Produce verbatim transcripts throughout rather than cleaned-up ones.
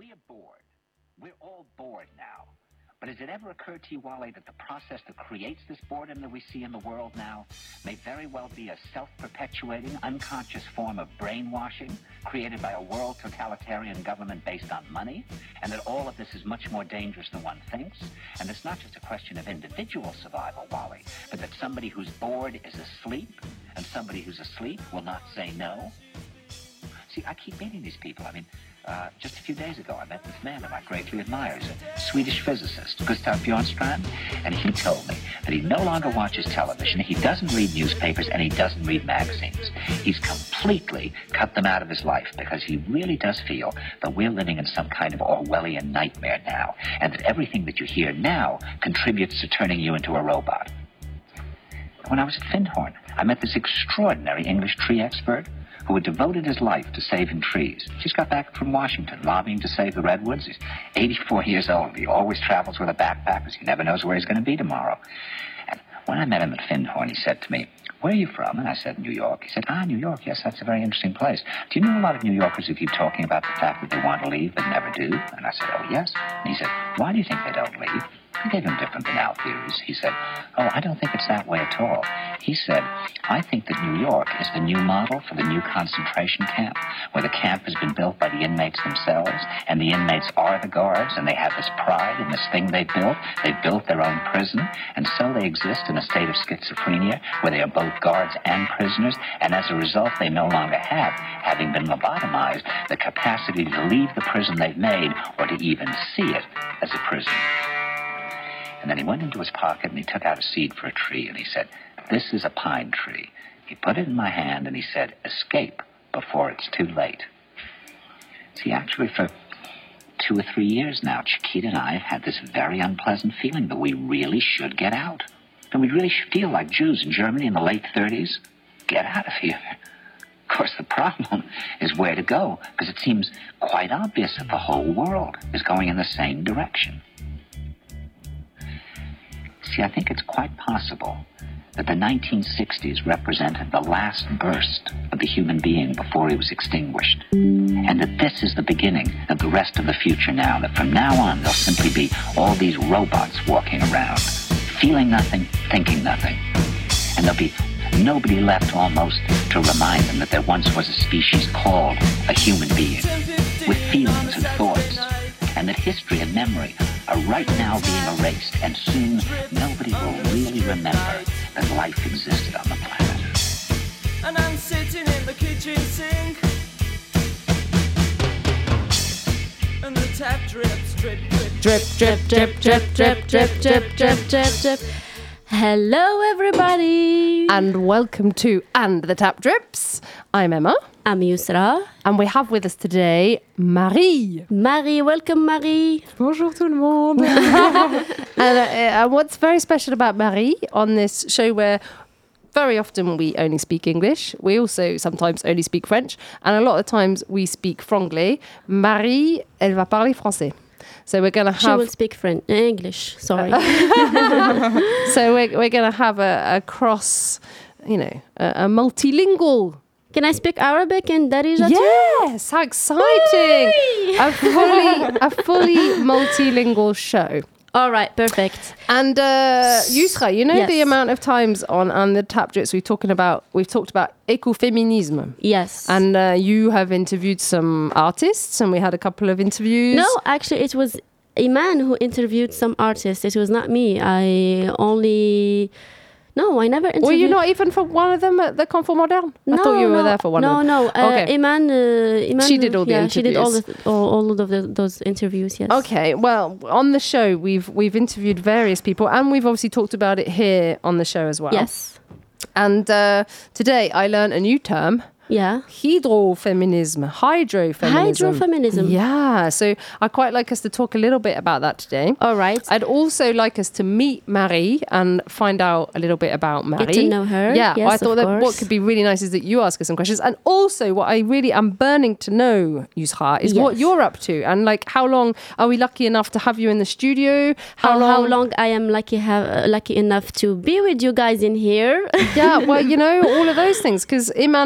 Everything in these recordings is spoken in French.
We are bored. We're all bored now. But has it ever occurred to you, Wally, that the process that creates this boredom that we see in the world now may very well be a self-perpetuating, unconscious form of brainwashing created by a world totalitarian government based on money, and that all of this is much more dangerous than one thinks, and it's not just a question of individual survival, Wally, but that somebody who's bored is asleep, and somebody who's asleep will not say no? See, I keep meeting these people. I mean, uh, just a few days ago, I met this man who I greatly admire. He's a Swedish physicist, Gustav Bjornstrand, and he told me that he no longer watches television, he doesn't read newspapers, and he doesn't read magazines. He's completely cut them out of his life because he really does feel that we're living in some kind of Orwellian nightmare now, and that everything that you hear now contributes to turning you into a robot. When I was at Findhorn, I met this extraordinary English tree expert who had devoted his life to saving trees. Just got back from Washington, lobbying to save the redwoods. He's eighty-four years old. He always travels with a backpack because he never knows where he's going to be tomorrow. And when I met him at Findhorn, he said to me, "Where are you from?" And I said, "New York." He said, "Ah, New York, yes, that's a very interesting place. Do you know a lot of New Yorkers who keep talking about the fact that they want to leave but never do?" And I said, "Oh, yes." And he said, "Why do you think they don't leave?" I gave him different banal theories. He said, "Oh, I don't think it's that way at all." He said, "I think that New York is the new model for the new concentration camp, where the camp has been built by the inmates themselves, and the inmates are the guards, and they have this pride in this thing they built. They built their own prison, and so they exist in a state of schizophrenia, where they are both guards and prisoners, and as a result, they no longer have, having been lobotomized, the capacity to leave the prison they've made, or to even see it as a prison." And then he went into his pocket and he took out a seed for a tree and he said, "This is a pine tree." He put it in my hand and he said, "Escape before it's too late." See, actually for two or three years now, Chiquita and I have had this very unpleasant feeling that we really should get out. And we really should feel like Jews in Germany in the late thirties. Get out of here. Of course, the problem is where to go, because it seems quite obvious that the whole world is going in the same direction. See, I think it's quite possible that the nineteen sixties represented the last burst of the human being before he was extinguished, and that this is the beginning of the rest of the future now, that from now on there'll simply be all these robots walking around, feeling nothing, thinking nothing, and there'll be nobody left almost to remind them that there once was a species called a human being, with feelings and thoughts, and that history and memory are right now being erased, and soon nobody will really remember that life existed on the planet. And I'm sitting in the kitchen sink, and the tap drips, drip, drip, Drip, drip, drip, drip, drip, drip, drip, drip, drip, drip. Hello, everybody. And welcome to And the Tap Drips. I'm Emma. I'm Yusra. And we have with us today Marie. Marie, welcome, Marie. Bonjour tout le monde. and, uh, and what's very special about Marie on this show, where very often we only speak English, we also sometimes only speak French, and a lot of times we speak franglais. Marie, elle va parler français. So we're going to have... She will speak French, English, sorry. so we're, we're going to have a, a cross, you know, a, a multilingual... Can I speak Arabic and Darija too? Yes, how exciting! a fully, a fully multilingual show. All right, perfect. And uh, Yusra, you know Yes. the amount of times on on the Tap Drips we've talking about we've talked about ecofeminism. Yes. And uh, you have interviewed some artists, and we had a couple of interviews. No, actually, it was Iman who interviewed some artists. It was not me. I only... No, I never interviewed... Were you not even for one of them at the Confort Moderne? No, I thought you were no, there for one no, of them. No, no. Uh, Okay. Iman, uh, Iman... She did all the yeah, she did all, interviews. the, all, all of the, those interviews, yes. Okay, well, on the show, we've we've interviewed various people, and we've obviously talked about it here on the show as well. Yes. And uh, today I learned a new term. Yeah. Hydrofeminism. Hydrofeminism. Hydrofeminism. Yeah. So I'd quite like us to talk a little bit about that today. All right. I'd also like us to meet Marie and find out a little bit about Marie. Get to know her. Yeah. Yes, I thought of that course. what could be really nice is that you ask us some questions. And also what I really am burning to know, Yusra, is what Yes. you're up to. And like how long are we lucky enough to have you in the studio? How, long? how long I am lucky have uh, lucky enough to be with you guys in here. Yeah, well, you know, all of those things. Because Iman's already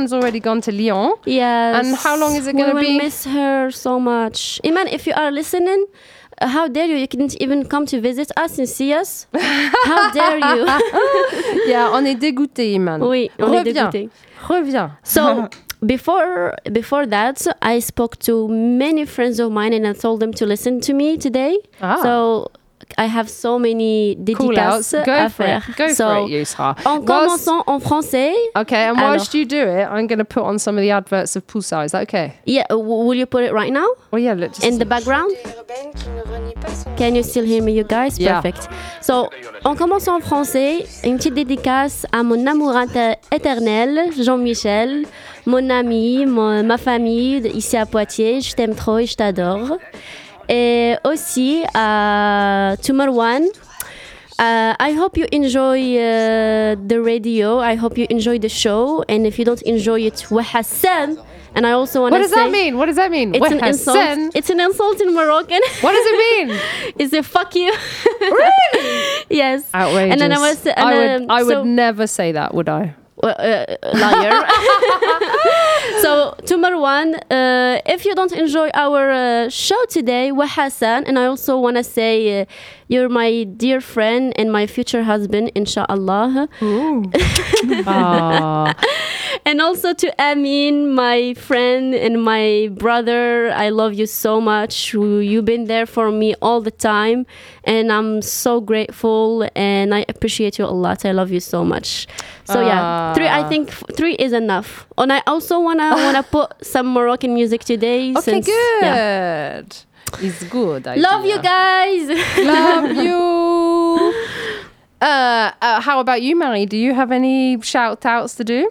gone to Lyon. Yes. And how long is it going to we be? We will miss her so much. Iman, if you are listening, uh, how dare you? You couldn't even come to visit us and see us. How dare you? Yeah, on est dégoûté, Iman. Oui, on Reviens. est dégoûté. Reviens. So before before that, I spoke to many friends of mine and I told them to listen to me today. Ah. So I have so many dédicaces Cool. Go à for faire. it. Go so, for it, Yusra. En commençant en français. Okay, and Alors. whilst you do it, I'm going to put on some of the adverts of Pulsar. Is that okay? Yeah, w- will you put it right now? Well, yeah, look, just In the background? Can you still hear me, you guys? Yeah. Perfect. So, on commence en français. Une petite dédicace à mon amour inter- éternel, Jean-Michel, mon ami, mon- ma famille ici à Poitiers. Je t'aime trop et je t'adore. Et aussi à to Marwan. Uh, I hope you enjoy uh, the radio. I hope you enjoy the show. And if you don't enjoy it, Wahassan. And I also want What to does say... that mean? What does that mean? It's an Wahassan? insult. It's an insult in Moroccan. What does it mean? Is it fuck you? Really? Yes. Outrageous. And then I was. And I would, um, I would so, never say that, would I? uh, uh, liar. So to Marwan, uh, if you don't enjoy our uh, show today, Wahassan, and I also want to say uh, you're my dear friend and my future husband, inshallah. Ah. And also to Amin, my friend and my brother. I love you so much. You've been there for me all the time. And I'm so grateful and I appreciate you a lot. I love you so much. So yeah, three. I think f- three is enough. And I also wanna wanna put some Moroccan music today. Okay, since, good. yeah. It's good. Love idea. you guys. Love you. Uh, uh, how about you, Marie? Do you have any shout outs to do?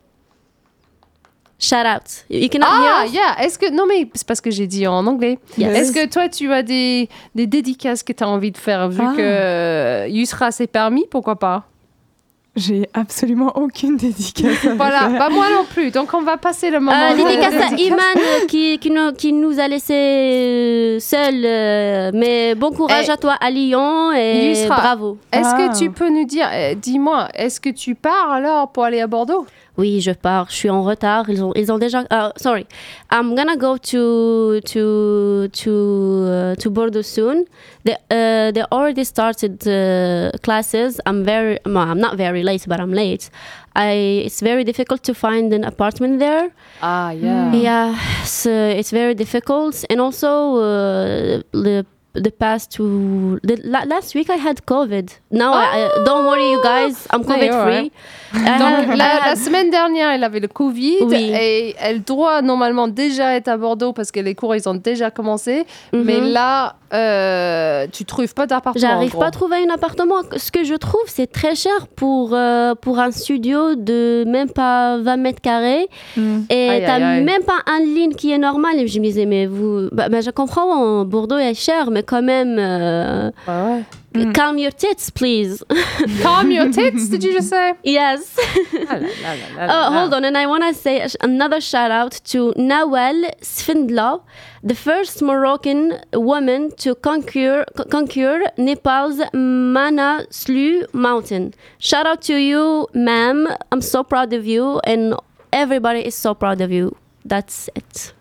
Shout out. You cannot Ah, hear us? yeah. Est-ce que non mais c'est parce que j'ai dit en anglais. Yes. Est-ce que toi tu as des des dédicaces que tu as envie de faire vu Ah. que Yusra c'est permis, pourquoi pas? J'ai absolument aucune dédicace. à Voilà, faire. bah moi non plus. Donc on va passer le moment. Euh, de- dédicace à dédicace. Iman euh, qui, qui, nous, qui nous a laissé seuls. euh, mais bon courage Eh, à toi à Lyon et Yusra, bravo. Est-ce Ah. que tu peux nous dire, euh, dis-moi, est-ce que tu pars alors pour aller à Bordeaux? Oui, je pars. Je suis en retard. Ils ont, ils ont déjà. Uh, sorry, I'm gonna go to to to uh, to Bordeaux soon. They uh, they already started uh, classes. I'm very. No, I'm not very late, but I'm late. I. It's very difficult to find an apartment there. Ah, yeah. Yeah, so it's very difficult. And also, uh, the the past two, the, la- last week I had COVID. Now, I, I, don't worry, you guys, I'm No, COVID you're free. I Donc have- I la, la have- semaine dernière, elle avait le Covid Oui. et elle doit normalement déjà être à Bordeaux parce que les cours ils ont déjà commencé. Mhm. Mais là, euh, tu trouves pas d'appartement. en J'arrive gros. pas à trouver un appartement. Ce que je trouve, c'est très cher pour, euh, pour un studio de même pas vingt mètres carrés. Mm. Et Aïe, t'as aïe, aïe. même pas un ligne qui est normal. Et je me disais, mais vous. Bah, bah, je comprends, Bordeaux est cher, mais quand même. euh, Ouais, ouais. Mm. Calm your tits, please. Calm your tits, did you just say? Yes. Ah là là là là là Oh, là. hold on, and I want to say sh- another shout out to Nawal Sfindla, the first Moroccan woman to conquer co- conquer Nepal's Manaslu mountain. Shout out to you, ma'am. I'm so proud of you, and everybody is so proud of you. That's it.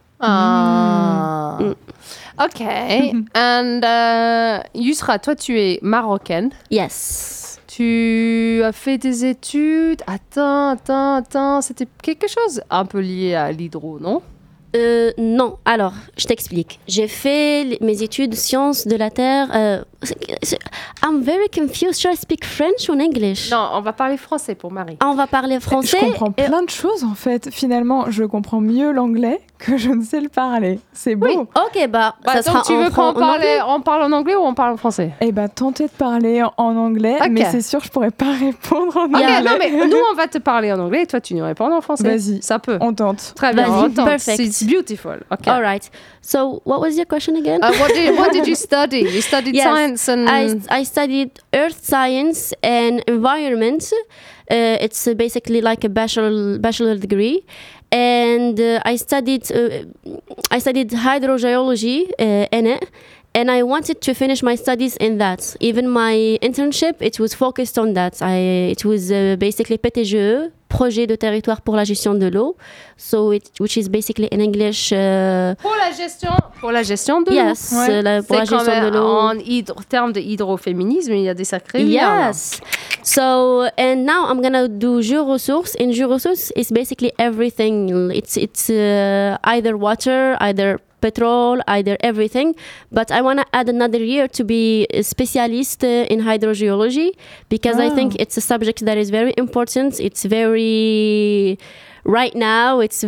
Ah. Mm. Ok. And uh, Yusra, toi tu es marocaine. Yes. Tu as fait des études. Attends, attends, attends. C'était quelque chose un peu lié à l'hydro, non? Euh, non, alors, je t'explique. J'ai fait les- mes études sciences de la Terre. euh, c'est- c'est- I'm very confused. Should I speak French or English? Non, on va parler français pour Marie. Ah, on va parler français. Je comprends et- plein de choses en fait. Finalement, je comprends mieux l'anglais que je ne sais le parler. C'est beau. Oui. Ok, bah, Bah, ça sera donc tu en veux fran- qu'on en parle, anglais. on parle en anglais ou on parle en français? Eh ben, tentez de parler en- en anglais, Ok. mais c'est sûr, je pourrais pas répondre en Ok, anglais. non mais nous on va te parler en anglais et toi tu nous réponds en français. Vas-y. Ça peut. On tente. Très bien, Vas-y, on tente. perfect. It's beautiful. Ok. All right. So, what was your question again? Uh, what did what did you study? You studied Yes, science and I, I studied earth science and environment. Uh, it's uh, basically like a bachelor bachelor degree, and uh, I studied uh, I studied hydrogeology uh, in it. And I wanted to finish my studies in that. Even my internship, it was focused on that. I it was uh, basically P T G E, projet de territoire pour la gestion de l'eau, so it, which is basically in English. Uh, pour la gestion, pour la gestion de yes, l'eau. Yes, la, pour la gestion de l'eau. En hydro, termes de hydroféminisme, il y a des sacrés liens. Yes. So and now I'm gonna do Jurosource. In Jurosource, it's basically everything. It's it's uh, either water, either petrol, either everything. But I want to add another year to be a specialist uh, in hydrogeology because oh. I think it's a subject that is very important. It's very right now. It's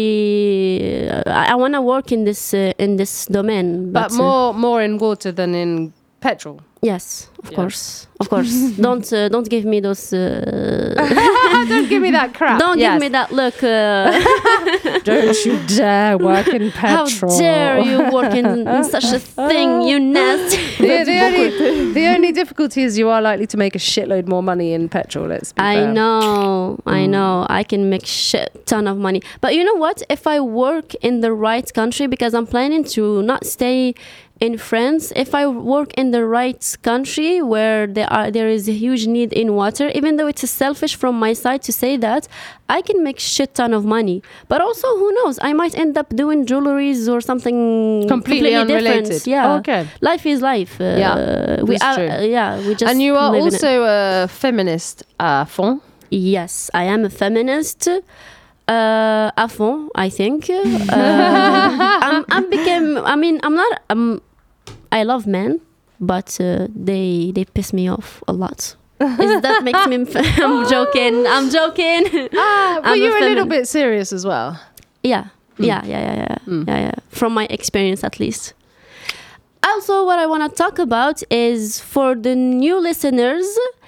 very. Uh, I, I want to work in this uh, in this domain. But, but more uh, more in water than in petrol. Yes, of yeah. course, of course. don't uh, don't give me those. Uh... don't give me that crap. Don't yes. give me that look. Uh... don't you dare work in petrol. How dare you work in, in such a thing, you nasty. the, the, only, the only difficulty is you are likely to make a shitload more money in petrol. Let's be I fair. know, mm. I know. I can make shit ton of money. But you know what? If I work in the right country, because I'm planning to not stay in France, if I work in the right country where there are there is a huge need in water, even though it's selfish from my side to say that, I can make shit ton of money. But also, who knows? I might end up doing jewelries or something completely, completely unrelated. Different. Yeah. Oh, okay. Life is life. Uh, yeah. We are. True. Uh, yeah. We just. And you are live also a feminist à fond. Yes, I am a feminist. Uh, à fond, I think. Uh, I'm, I'm became. I mean, I'm not. I'm. I love men, but uh, they they piss me off a lot. Is that makes me? I'm joking. I'm joking. Ah, but you're a, a little bit serious as well. Yeah, mm. yeah, yeah, yeah, yeah, mm. yeah, yeah. From my experience, at least. Also, what I want to talk about is for the new listeners.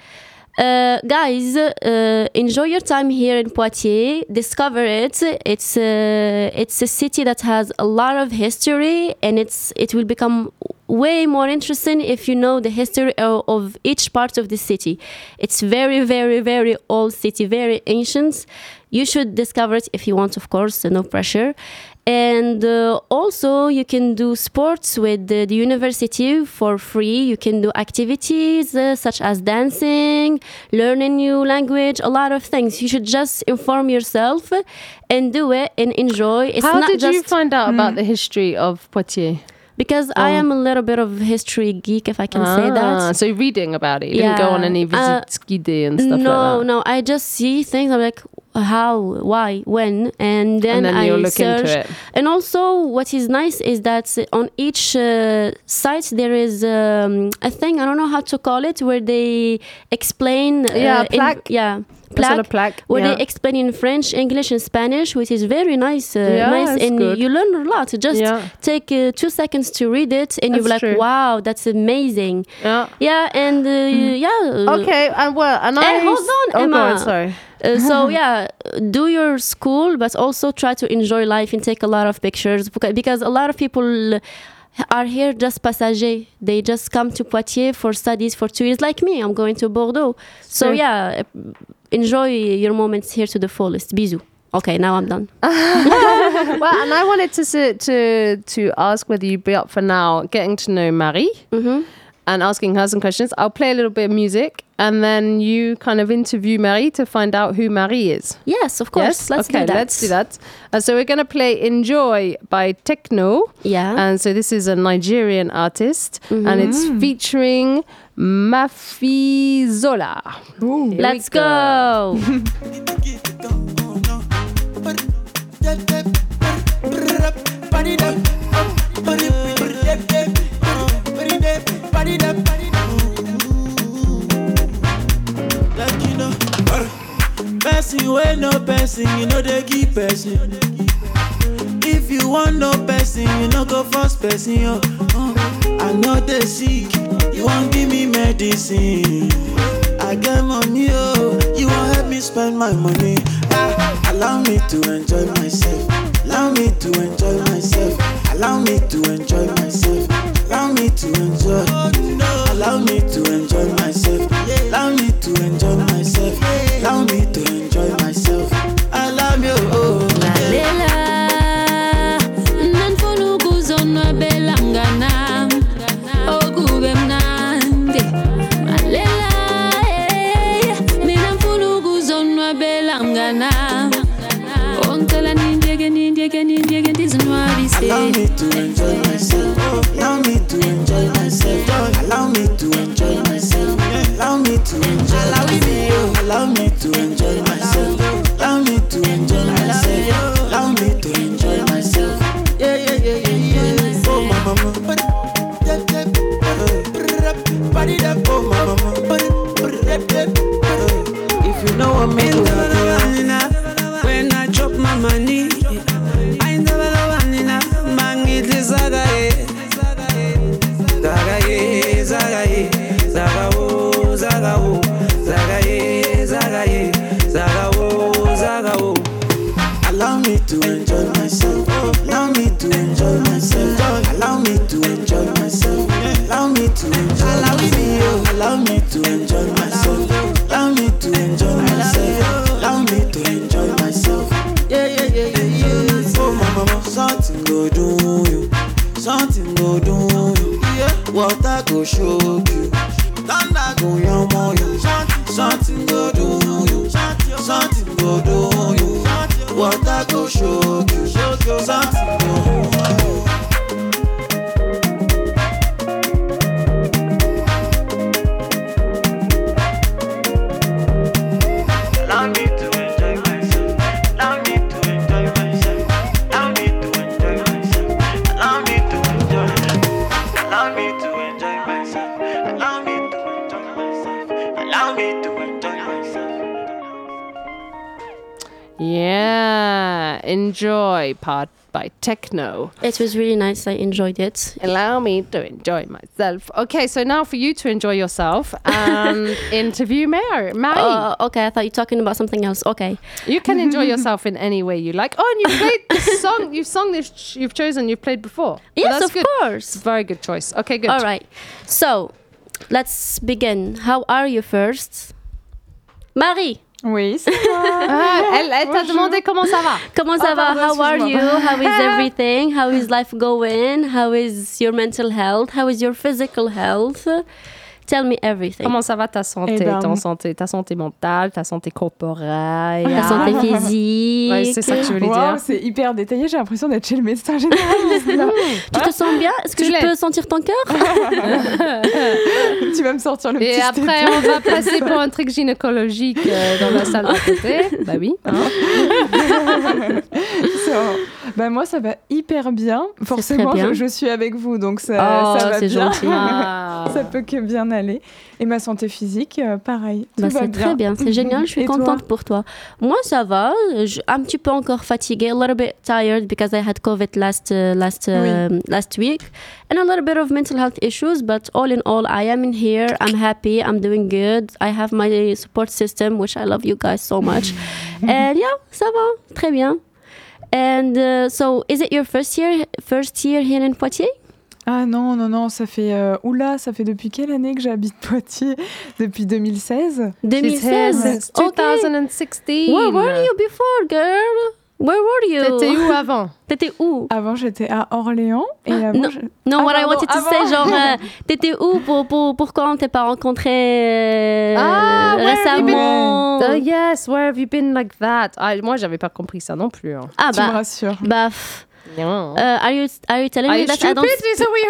Uh, guys, uh, enjoy your time here in Poitiers. Discover it. It's a, it's a city that has a lot of history, and it's it will become way more interesting if you know the history of, of each part of the city. It's very, very, very old city, very ancient. You should discover it if you want, of course, no pressure. And uh, also you can do sports with the, the university for free. You can do activities uh, such as dancing, learn a new language, a lot of things. You should just inform yourself and do it and enjoy. It's How not did just you find out mm. about the history of Poitiers? Because oh. I am a little bit of history geek, if I can ah, say that. So reading about it. You yeah. didn't go on any visits uh, guidées and stuff no, like that? No, no. I just see things. I'm like, how, why, when, and then, and then I you'll look search. Into it. And also, what is nice is that on each uh, site there is um, a thing, I don't know how to call it, where they explain. Uh, yeah, plaque. In, yeah. Plaque, sort of plaque where yeah. they explain in French, English, and Spanish, which is very nice. Uh, yeah, nice, and good. you learn a lot. Just yeah. take uh, two seconds to read it, and you're like, true. "Wow, that's amazing." Yeah, yeah, and uh, mm. yeah. Okay, and well, and I. Hey, hold on, oh, Emma. Go on, sorry. Uh, so yeah, do your school, but also try to enjoy life and take a lot of pictures, because a lot of people are here just passagers. They just come to Poitiers for studies for two years, like me. I'm going to Bordeaux. So sure. yeah, enjoy your moments here to the fullest. Bisous. Okay, now I'm done. Well, and I wanted to to to ask whether you'd be up for now getting to know Marie. Mm-hmm. And asking her some questions. I'll play a little bit of music, and then you kind of interview Marie to find out who Marie is. Yes, of course. Yes? Let's okay, do that. let's do that. Uh, so we're going to play Enjoy by Techno. Yeah. And so this is a Nigerian artist, mm-hmm. and it's featuring Mafizola. Let's go. Like you know, person wey no person, you know they give person. If you want no person, you no go first person. Yo. Uh, I know they sick, you won't give me medicine. I get money, oh, you won't help me spend my money. Ah, allow me to enjoy myself. Allow me to enjoy myself. Allow me to enjoy myself. Allow me to enjoy. Allow me to enjoy myself. Allow me to enjoy myself. Allow me to enjoy myself. I love you. Oh, Malela, nanfunu kuzonwa belangana, okube mnandi. Malela, mina mfunu kuzonwa belangana. me to enjoy myself. Allow me to enjoy myself. Allow me to enjoy myself. Allow me to enjoy. Allow me, allow me to enjoy myself. Allow me to enjoy myself. Allow me to enjoy myself. Yeah, yeah, yeah, yeah, yeah. Oh, my mama. Body that oh, my mama. If you know what me do, when I drop my money, I never know Anina. Mangit zagaye, zagaye, zagaye, zagao, zagao, zagaye, zagaye, zagao, zagao. Allow me to enjoy myself. Allow me to enjoy myself. Allow me to enjoy myself. Allow me to enjoy. Allow me, allow me to enjoy myself. Allow me to enjoy myself. Allow me to enjoy myself. Yeah, yeah, yeah, yeah, yeah. Oh, my mama, something go do you. Something go do you. Yeah, water go shock you. Thunder go yamo you. Something go do you. Something go do you. Water go shock you. Something go do you. Yeah, enjoy part by Techno. It was really nice. I enjoyed it. Allow me to enjoy myself. Okay, so now for you to enjoy yourself and interview Mary. Marie. Oh, okay. I thought you were talking about something else. Okay. You can enjoy yourself in any way you like. Oh, and you played this song. You've sung this. You've chosen. You've played before. Yes, well, that's of good. course. Very good choice. Okay, good. All right. So, let's begin. How are you first? Marie. Oui, c'est moi. Ah, elle elle t'a demandé comment ça va. Comment ça Ah, va? pardon, How are you? excuse-moi. How is everything? How is life going? How is your mental health? How is your physical health? Tell me everything. Comment ça va ta santé, Eh ben, ton santé, ta santé mentale, ta santé corporelle, Ta santé physique. Ouais, c'est ça que je voulais Wow, dire. c'est hyper détaillé. J'ai l'impression d'être chez le médecin généraliste. là. Tu te sens bien? Est-ce que Tu je l'es. peux sentir ton cœur? Tu vas me sortir le Et petit après, stéto. on va passer pour un truc gynécologique euh, dans la salle d'à côté. Bah oui. hein. So, bah moi, ça va hyper bien. Forcément, très bien. Je, je suis avec vous, donc ça, Oh, ça va c'est bien. gentil. Ah. Ça peut que bien aller. Et ma santé physique, euh, pareil. Tout Bah, va c'est bien. très bien, c'est génial, je suis Et toi? contente pour toi. Moi, ça va, je, un petit peu encore fatiguée, a little bit tired because I had COVID last uh, last um, last week, and a little bit of mental health issues. But all in all, I am in here. I'm happy. I'm doing good. I have my support system, which I love you guys so much. And yeah, ça va, très bien. And uh, so, is it your first year first year here in Poitiers? Ah non, non, non, ça fait... Euh, oula, ça fait depuis quelle année que j'habite Poitiers? Depuis deux mille seize. She's deux mille here seize. since twenty sixteen. Where were you before, girl? Where were you? T'étais où avant? T'étais où? Avant, j'étais à Orléans. Et avant, Non, je- non, Ah, what I pardon, wanted to avant. say, genre, euh, t'étais où pour, pour, pourquoi on t'a pas rencontré euh, Ah, where have you been? récemment? Uh, yes, where have you been like that? Ah, moi, j'avais pas compris ça non plus. Hein. Ah tu me bah, rassures. bah, pff, Non. uh, are you are you telling Are me you that I stupid? don't? So we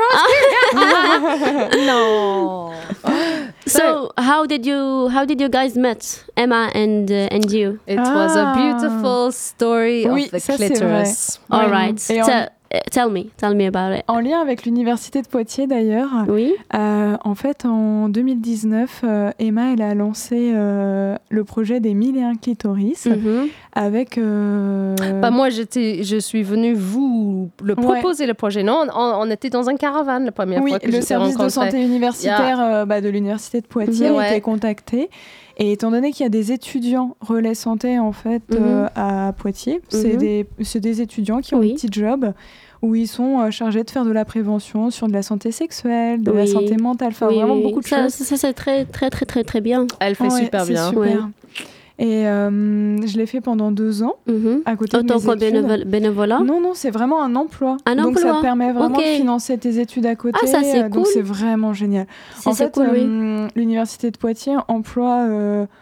asking? No. So how did you how did you guys met, Emma and uh, and you? It was a Ah. beautiful story Oui, of the ça, c'est clitoris. All Oui. right, Et en- Te- uh, tell me, tell me about it. En lien avec l'université de Poitiers d'ailleurs, Oui. euh, en fait en deux mille dix-neuf, euh, Emma elle a lancé euh, le projet des mille et un clitoris Mhm. avec... euh, Bah, moi, j'étais, je suis venue vous le Ouais. proposer le projet. Non, on, on était dans un caravane la première oui, fois que le je t'ai service de rencontré. santé universitaire euh, bah, de l'université de Poitiers Mhm, a ouais. été contacté. Et étant donné qu'il y a des étudiants relais santé en fait Mhm. euh, à Poitiers, c'est Mhm. des, c'est des étudiants qui ont Oui. un petit job où ils sont euh, chargés de faire de la prévention sur de la santé sexuelle, de la Oui. santé mentale, enfin Oui, vraiment oui. beaucoup de ça, choses. Ça, ça, c'est très très très très très bien. Elle fait Ouais, super c'est bien. super. Ouais. Et euh, je l'ai fait pendant deux ans Mhm. à côté de Autant mes que études. bénévole- bénévolat. Non, non, c'est vraiment un emploi. Un donc ça emploi. permet vraiment Ok. de financer tes études à côté. Ah, ça, c'est euh, Donc cool. c'est vraiment génial. C'est En c'est fait, cool, oui. euh, l'université de Poitiers emploie euh,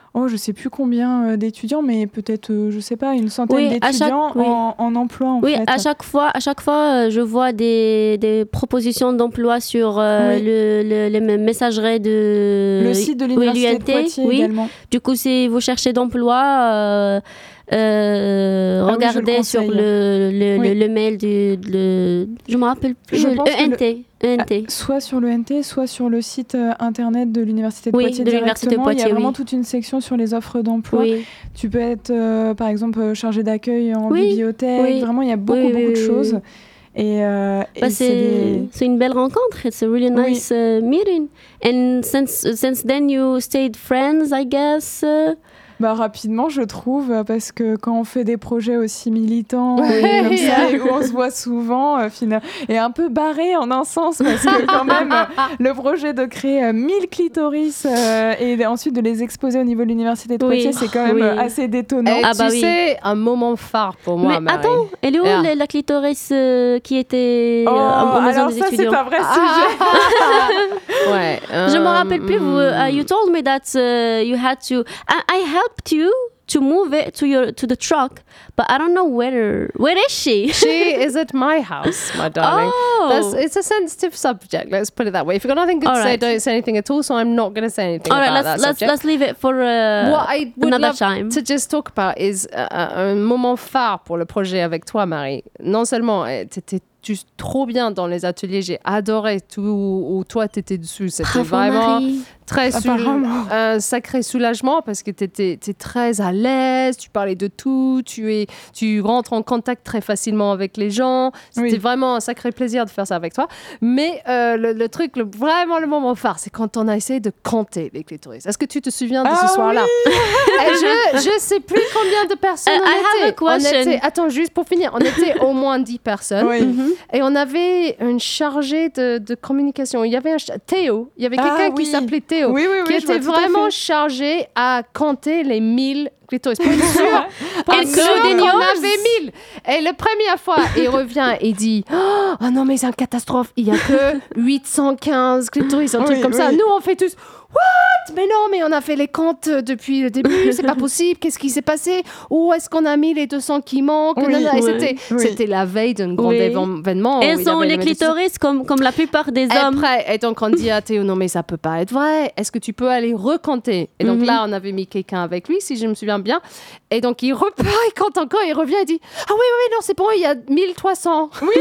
oh, je sais plus combien euh, d'étudiants, mais peut-être, euh, je sais pas, une centaine Oui, à d'étudiants chaque- oui. en, en emploi, en Oui, fait. à chaque fois, à chaque fois, euh, je vois des, des propositions d'emploi sur euh, Oui. le, le, les messageries de Le site de oui, l'Université l'U N de T, Poitiers oui. également. Du coup, si vous cherchez d'emploi, euh, euh, Ah oui, je le regardez sur conseille. le, le, Oui. le, le mail du... Le, je me rappelle plus. Je le pense que E N T. E N T. Soit sur le N T, soit sur le site euh, internet de l'Université de Oui, Poitiers de l'Université de directement. Il y a Poitiers, vraiment oui. toute une section sur les offres d'emploi. Oui. Tu peux être, euh, par exemple, euh, chargé d'accueil en Oui, bibliothèque. oui. Vraiment, il y a beaucoup, Oui, oui, beaucoup oui, de oui, choses. oui. Et, euh, et Bah, c'est c'est des... c'est une belle rencontre. It's a really Oui. nice uh, meeting. And since since then you stayed friends, I guess. uh, Bah, rapidement, je trouve, euh, parce que quand on fait des projets aussi militants Ouais. et comme ça, et où on se voit souvent, euh, fina- et un peu barré en un sens, parce que quand même, euh, le projet de créer euh, mille clitoris euh, et ensuite de les exposer au niveau de l'Université de Oui. Poitiers, c'est quand même Oui. euh, assez détonnant. Et Ah tu bah oui. sais, un moment phare pour moi, Mais Marie. attends, elle est où Ah. la, la clitoris euh, qui était euh, Oh, en en maison alors des ça, c'est étudiants? un vrai sujet. Ouais. Je me euh, rappelle plus. Vous, uh, you mm. told me that uh, you had to. I, I helped you to move it to your to the truck, but I don't know where. Where is she? She is at my house, my darling. Oh. That's, it's a sensitive subject. Let's put it that way. If you've got nothing good All to say, right. don't say anything at all. So I'm not going to say anything All right, about let's that let's subject. let's leave it for uh, What I would another love time. to just talk about is uh, un moment phare pour le projet avec toi, Marie. Non seulement eh, t'étais juste trop bien dans les ateliers, j'ai adoré tout où toi t'étais dessus. C'était Bravo, vraiment Marie. très soul- Apparemment. un sacré soulagement parce que tu étais très à l'aise, tu parlais de tout, tu, es, tu rentres en contact très facilement avec les gens. C'était Oui. vraiment un sacré plaisir de faire ça avec toi. Mais euh, le, le truc, le, vraiment le moment phare, c'est quand on a essayé de compter les clitoris. Est-ce que tu te souviens de Ah ce soir-là? Et je ne sais plus combien de personnes Uh, on I have était. a question. On était. Attends, juste pour finir, on était au moins dix personnes. Oui. Mhm. Et on avait une chargée de, de communication. Il y avait un ch- Théo. Il y avait Ah, quelqu'un oui. qui s'appelait Théo, Oui, oui, oui, qui je vois était tout à vraiment fait. chargé à compter les mille clitoris. Pour être sûr, pour être sûr Including qu'on yours. avait mille. Et la première fois, il revient et dit « Oh non, mais c'est une catastrophe. Il n'y a que huit cent quinze clitoris. » Un truc Oui, comme ça. oui. Nous, on fait tous « What? Mais non, mais on a fait les comptes depuis le début. C'est pas possible. Qu'est-ce qui s'est passé? Où est-ce qu'on a mis les deux cents qui manquent? » Oui, Nanana. Et oui, c'était, oui. c'était la veille d'un grand Oui. événement. Et où il sont avait les le médecin. clitoris comme, comme la plupart des hommes. Après, et donc on dit à Théo, non mais ça peut pas être vrai, est-ce que tu peux aller recompter? Et donc Mhm. là, on avait mis quelqu'un avec lui, si je me souviens bien. Et donc il repart, il compte encore, il revient, il dit, ah oui, oui, oui, non, c'est bon, il y a mille trois cents. Oui.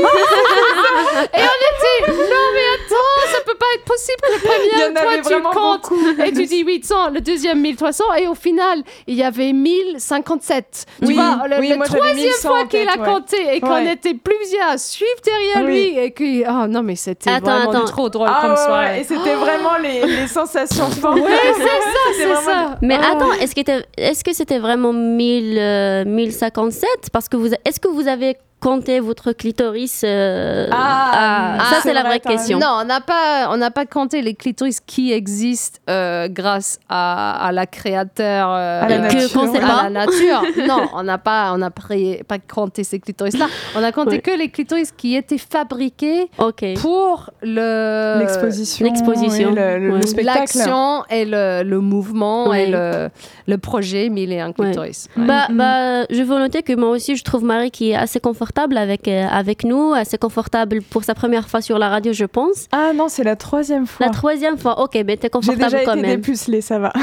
Et on était, non mais attends, ça peut pas être possible que le Il y en premier, toi avait tu vraiment comptes, beaucoup. et tu dis huit cents, le deuxième mille trois cents, et au final, il y avait mille cinquante-sept. Tu Oui, vois, le, oui, le moi, j'avais troisième mille cent fois en qu'il tête, a ouais. compté et qu'on Ouais. était plusieurs à suivre derrière Oui. lui, et que, oh non mais c'était Attends, vraiment attends. trop drôle Ah comme ouais, soirée. ouais, et c'était vraiment les, les sensations fortes. Oui, c'est ça, C'était c'est vraiment- ça. Mais Ah. attends, est-ce que, t'es- est-ce que c'était vraiment mille, euh, mille cinquante-sept? Parce que vous, est-ce que vous avez compté votre clitoris euh, Ah, ça, ah, c'est c'est la vrai, vraie t'as raison. question. Non, on n'a pas, on n'a pas compté les clitoris qui existent euh, grâce à, à la créateur, euh, À la Et nature. que qu'on sait à pas. la nature. Non, on n'a pas, on n'a pré- pas compté ces clitoris-là. On a compté Oui. que les clitoris qui étaient fabriqués Ok. pour le L'exposition, L'exposition, oui, le, le- ouais. le spectacle. l'action et le, le mouvement Ouais. et le, le projet mille et un clitoris. Ouais. Bah, Mhm. bah, je veux noter que moi aussi, je trouve Marie qui est assez confortable avec, euh, avec nous, assez confortable pour sa première fois sur la radio, je pense. Ah non, c'est la troisième fois. La troisième fois, ok, mais t'es J'ai confortable déjà quand été même. dépucelée, ça va.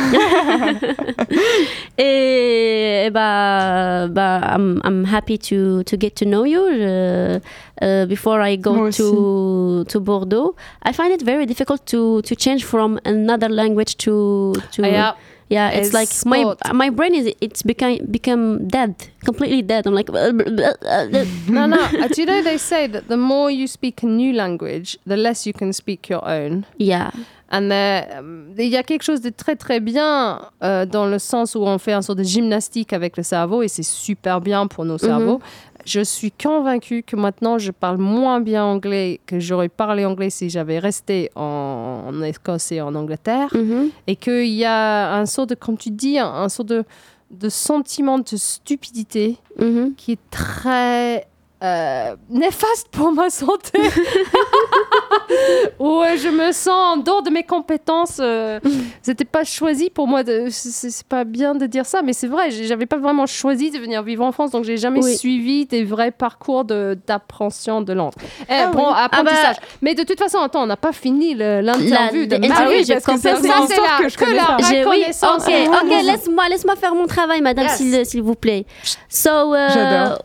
Et, et bah, bah, I'm, I'm happy to, to get to know you. Je- uh, before I go Moi to to Bordeaux, I find it very difficult to to change from another language to to. Yeah. Yeah, it's It's like my sport. my brain is it's become become dead, completely dead. I'm like. No, no. Uh, do you know they say that the more you speak a new language, the less you can speak your own. Yeah. And there, um, il y a quelque chose de très très bien euh, dans le sens où on fait un sort de gymnastique avec le cerveau et c'est super bien pour nos cerveaux. Je suis convaincue que maintenant je parle moins bien anglais que j'aurais parlé anglais si j'avais resté en, en Écosse et en Angleterre. Mhm. Et qu'il y a un sort de, comme tu dis, un, un sort de, de sentiment de stupidité Mhm. qui est très euh, néfaste pour ma santé. Où euh, je me sens en dehors de mes compétences. Euh, c'était pas choisi pour moi. De, c'est, c'est pas bien de dire ça, mais c'est vrai. J'avais pas vraiment choisi de venir vivre en France, donc j'ai jamais Oui. suivi des vrais parcours de, d'appréhension de langue. Eh, Ah bon, oui. apprentissage. Ah bah- mais de toute façon, attends, on n'a pas fini le, l'interview La- de l'interview, Marie. Ah oui, j'ai parce que ça, complètement- c'est Ça, une c'est histoire la- que je que connais la- pas. J'ai- oui, reconnaissance. ok, ok, laisse-moi, laisse-moi faire mon travail, madame, Yes. s'il, s'il vous plaît. So, uh, J'adore.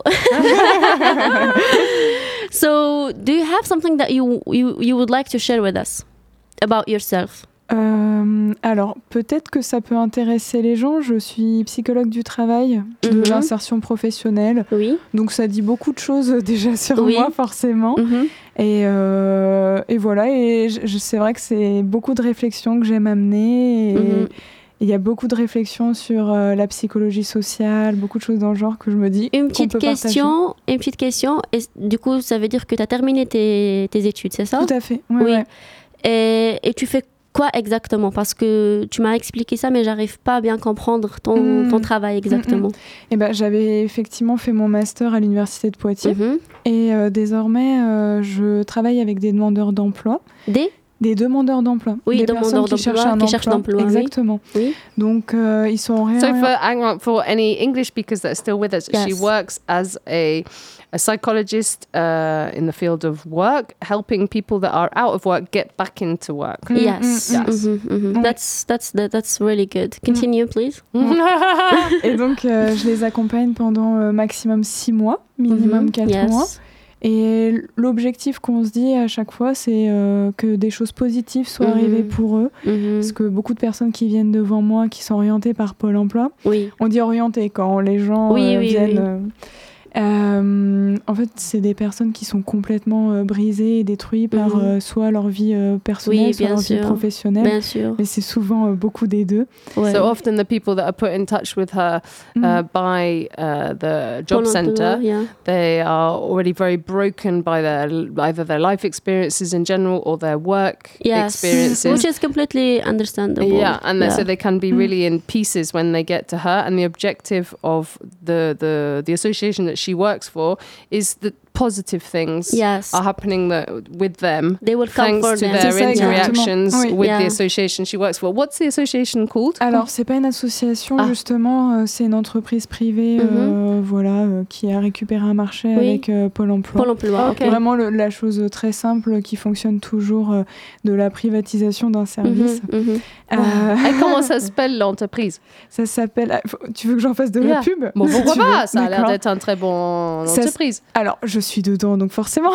so, do you have something that you, you you would like to share with us about yourself? Euh, alors, peut-être que ça peut intéresser les gens. Je suis psychologue du travail, de Mhm. l'insertion professionnelle. Oui. Donc, ça dit beaucoup de choses euh, déjà sur Oui. moi, forcément. Mhm. Et, euh, et voilà. Et je- je- c'est vrai que c'est beaucoup de réflexions que j'aime amener. Et Mhm. il y a beaucoup de réflexions sur euh, la psychologie sociale, beaucoup de choses dans le genre que je me dis. Une qu'on petite peut partager. question, une petite question. Et du coup, ça veut dire que tu as terminé tes, tes études, c'est ça? Tout à fait. Ouais, Oui. ouais. Et, et tu fais quoi exactement? Parce que tu m'as expliqué ça, mais j'arrive pas à bien comprendre ton, Mm. ton travail exactement. Et ben, j'avais effectivement fait mon master à l'université de Poitiers. Mhm. Et euh, désormais, euh, je travaille avec des demandeurs d'emploi. Des Des demandeurs d'emploi. Oui, des demandeurs personnes qui d'emploi, cherchent un qui cherchent emploi. d'emploi, oui. Exactement. Oui. Donc, euh, ils sont rien. So for, hang on, for any English speakers that are still with us, she Yes. works as a, a psychologist uh, in the field of work, helping people that are out of work get back into work. Mm, Yes. mm, Yes. Mhm, mhm. Ouais. That's that's that, that's really good. Continue, please. Et donc, euh, je les accompagne pendant euh, maximum six mois, minimum Mhm. quatre Yes. mois. Et l'objectif qu'on se dit à chaque fois, c'est euh, que des choses positives soient Mhm. arrivées pour eux. Mhm. Parce que beaucoup de personnes qui viennent devant moi, qui sont orientées par Pôle emploi, Oui. on dit orientées quand les gens Oui, euh, oui, viennent. oui. euh, euh, en fait, c'est des personnes qui sont complètement euh, brisées et détruites par Mhm. euh, soit leur vie euh, personnelle, Oui, soit bien leur vie sûr. professionnelle. Bien sûr. Mais c'est souvent euh, beaucoup des deux. Ouais. So often the people that are put in touch with her Mm. uh, by uh, the job Pôle emploi, centre, yeah. they are already very broken by their either their life experiences in general or their work Yes. experiences. Which is completely understandable. Yeah, and they- Yeah. so they can be Mm. really in pieces when they get to her. And the objective of the the the association that she works for is that positive things Yes. are happening that, with them. They will come Thanks for to them. their C'est ça, interactions exactement. Oui. with Yeah. the association she works for. What's the association called? Alors, c'est pas une association, Ah. justement, euh, c'est une entreprise privée Mhm. euh, voilà, euh, qui a récupéré un marché Oui. avec euh, Pôle emploi. Pôle emploi. Ok. ok. Vraiment le- la chose très simple qui fonctionne toujours euh, de la privatisation d'un service. Mhm, mhm. Euh, Et comment ça s'appelle l'entreprise? ça s'appelle. ah, faut- Tu veux que j'en fasse de Yeah. la pub? Bon, Si pourquoi tu pas? veux. Ça a l'air D'accord. d'être un très bon Ça, entreprise. Alors, je suis dedans, donc forcément.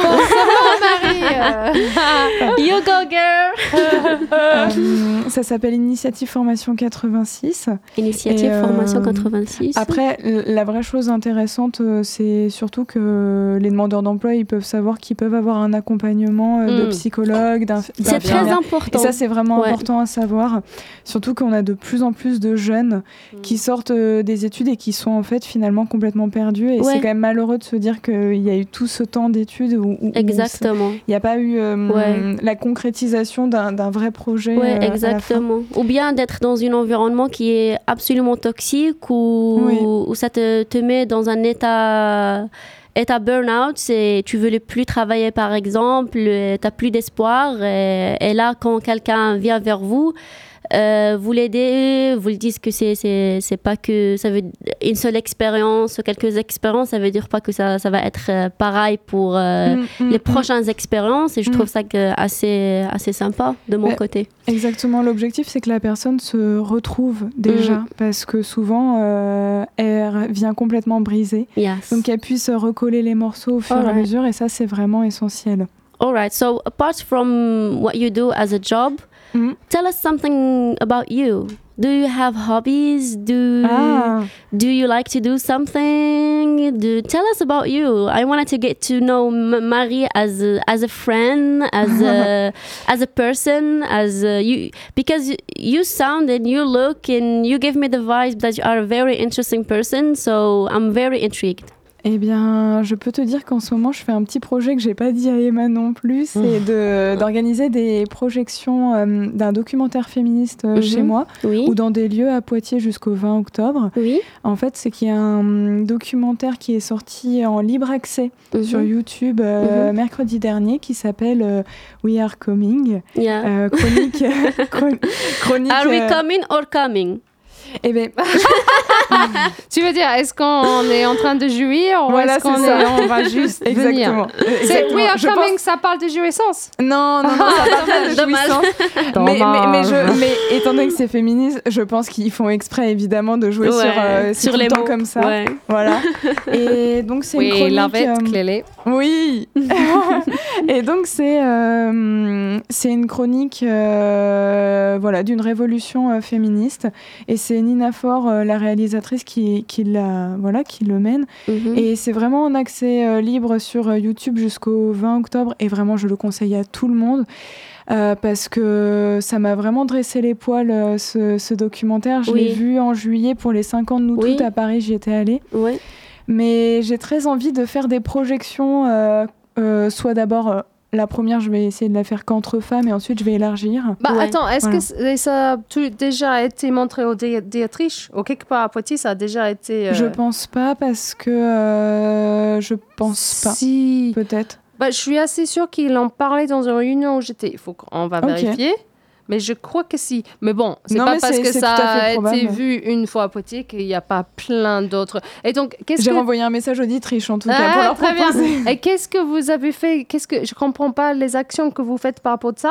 You go, girl. Euh, ça s'appelle Initiative Formation quatre-vingt-six. Initiative Et, euh, Formation quatre-vingt-six. Après, l- la vraie chose intéressante, euh, c'est surtout que les demandeurs d'emploi, ils peuvent savoir qu'ils peuvent avoir un accompagnement euh, de Mm. psychologue, d'un c'est très important. Et ça, c'est vraiment Ouais. important à savoir. Surtout qu'on a de plus en plus de jeunes qui sortent euh, des études et qui sont en fait finalement complètement perdus. Et Ouais. c'est quand même malheureux de se dire qu'il y a eu tout ce temps d'études où, où- où Exactement. il n'y a pas eu euh, Ouais. la concrétisation d'un d'un vrai projet. Ouais, euh, à la fin. exactement. Ou bien d'être dans un environnement qui est absolument toxique ou Oui. où ça te, te met dans un état, état burn-out. C'est, tu veux plus travailler, par exemple, tu n'as plus d'espoir. Et, et là, quand quelqu'un vient vers vous, euh, vous l'aidez, vous lui dites que c'est, c'est, c'est pas que ça veut une seule expérience, quelques expériences, ça veut dire pas que ça, ça va être euh, pareil pour euh, Mm, mm, les mm. prochaines expériences. Et je Mm. trouve ça que assez, assez sympa de mon Ouais. côté. Exactement, l'objectif c'est que la personne se retrouve déjà Mm. parce que souvent euh, elle vient complètement brisée. Yes. Donc qu'elle puisse recoller les morceaux au fur et à Alright. mesure et ça c'est vraiment essentiel. All right. So apart from what you do as a job, Mm. tell us something about you. Do you have hobbies? Do Ah, do you like to do something? Do tell us about you. I wanted to get to know M- Marie as a, as a friend, as a as a person, as a, you because you, you sound and you look and you give me the vibe that you are a very interesting person. So I'm very intrigued. Eh bien, je peux te dire qu'en ce moment, je fais un petit projet que j'ai pas dit à Emma non plus, c'est de, d'organiser des projections euh, d'un documentaire féministe euh, Mhm. chez moi Oui. ou dans des lieux à Poitiers jusqu'au vingt octobre. Oui. En fait, c'est qu'il y a un documentaire qui est sorti en libre accès Mhm. sur YouTube euh, Mhm. mercredi dernier qui s'appelle euh, We Are Coming. Yeah. Euh, chronique. chron- chronique Are we euh, coming or coming? eh ben, Tu veux dire, est-ce qu'on est en train de jouir ou Voilà, est-ce qu'on c'est ça. est, on va juste venir? exactement. C'est Exactement. We Are Je Coming, pense- ça parle de jouissance. Non, non, non, ça parle pas de Dommage. jouissance. mais, mais, mais, je, Dommage. mais étant donné que c'est féministe, je pense qu'ils font exprès évidemment de jouer Ouais, sur, euh, c'est sur tout les le temps mots. comme ça. Ouais. Voilà. Et donc c'est une We chronique. love it, euh, clearly. Oui. Et donc c'est euh, c'est une chronique euh, voilà d'une révolution euh, féministe et c'est Nina Faure, euh, la réalisatrice qui qui la voilà qui le mène. Mhm. Et c'est vraiment en accès euh, libre sur euh, YouTube jusqu'au vingt octobre et vraiment je le conseille à tout le monde. Euh, parce que ça m'a vraiment dressé les poils euh, ce, ce documentaire. Je Oui. l'ai vu en juillet pour les cinq ans de nous Oui. toutes à Paris, j'y étais allée. Ouais. Mais j'ai très envie de faire des projections, euh, euh, soit d'abord, euh, la première, je vais essayer de la faire qu'entre femmes et ensuite je vais élargir. Bah Ouais. attends, est-ce Voilà. que c- ça a tout déjà été montré aux dé- théâtrices ou quelque part à Poitiers, ça a déjà été... euh, Je pense pas parce que euh, je pense pas. Si. Peut-être. Bah, je suis assez sûre qu'ils en parlaient dans une réunion où j'étais. Il faut qu'on va Ok. vérifier. Mais je crois que si. Mais bon, c'est Non, pas mais parce c'est- que c'est ça tout à fait a été probable. vu une fois à Poitiers qu'il n'y a pas plein d'autres. Et donc, qu'est-ce J'ai que... renvoyé un message aux auditrices en tout cas Ah, pour leur très bien. proposer. Et qu'est-ce que vous avez fait? Qu'est-ce que je comprends pas les actions que vous faites par rapport à ça?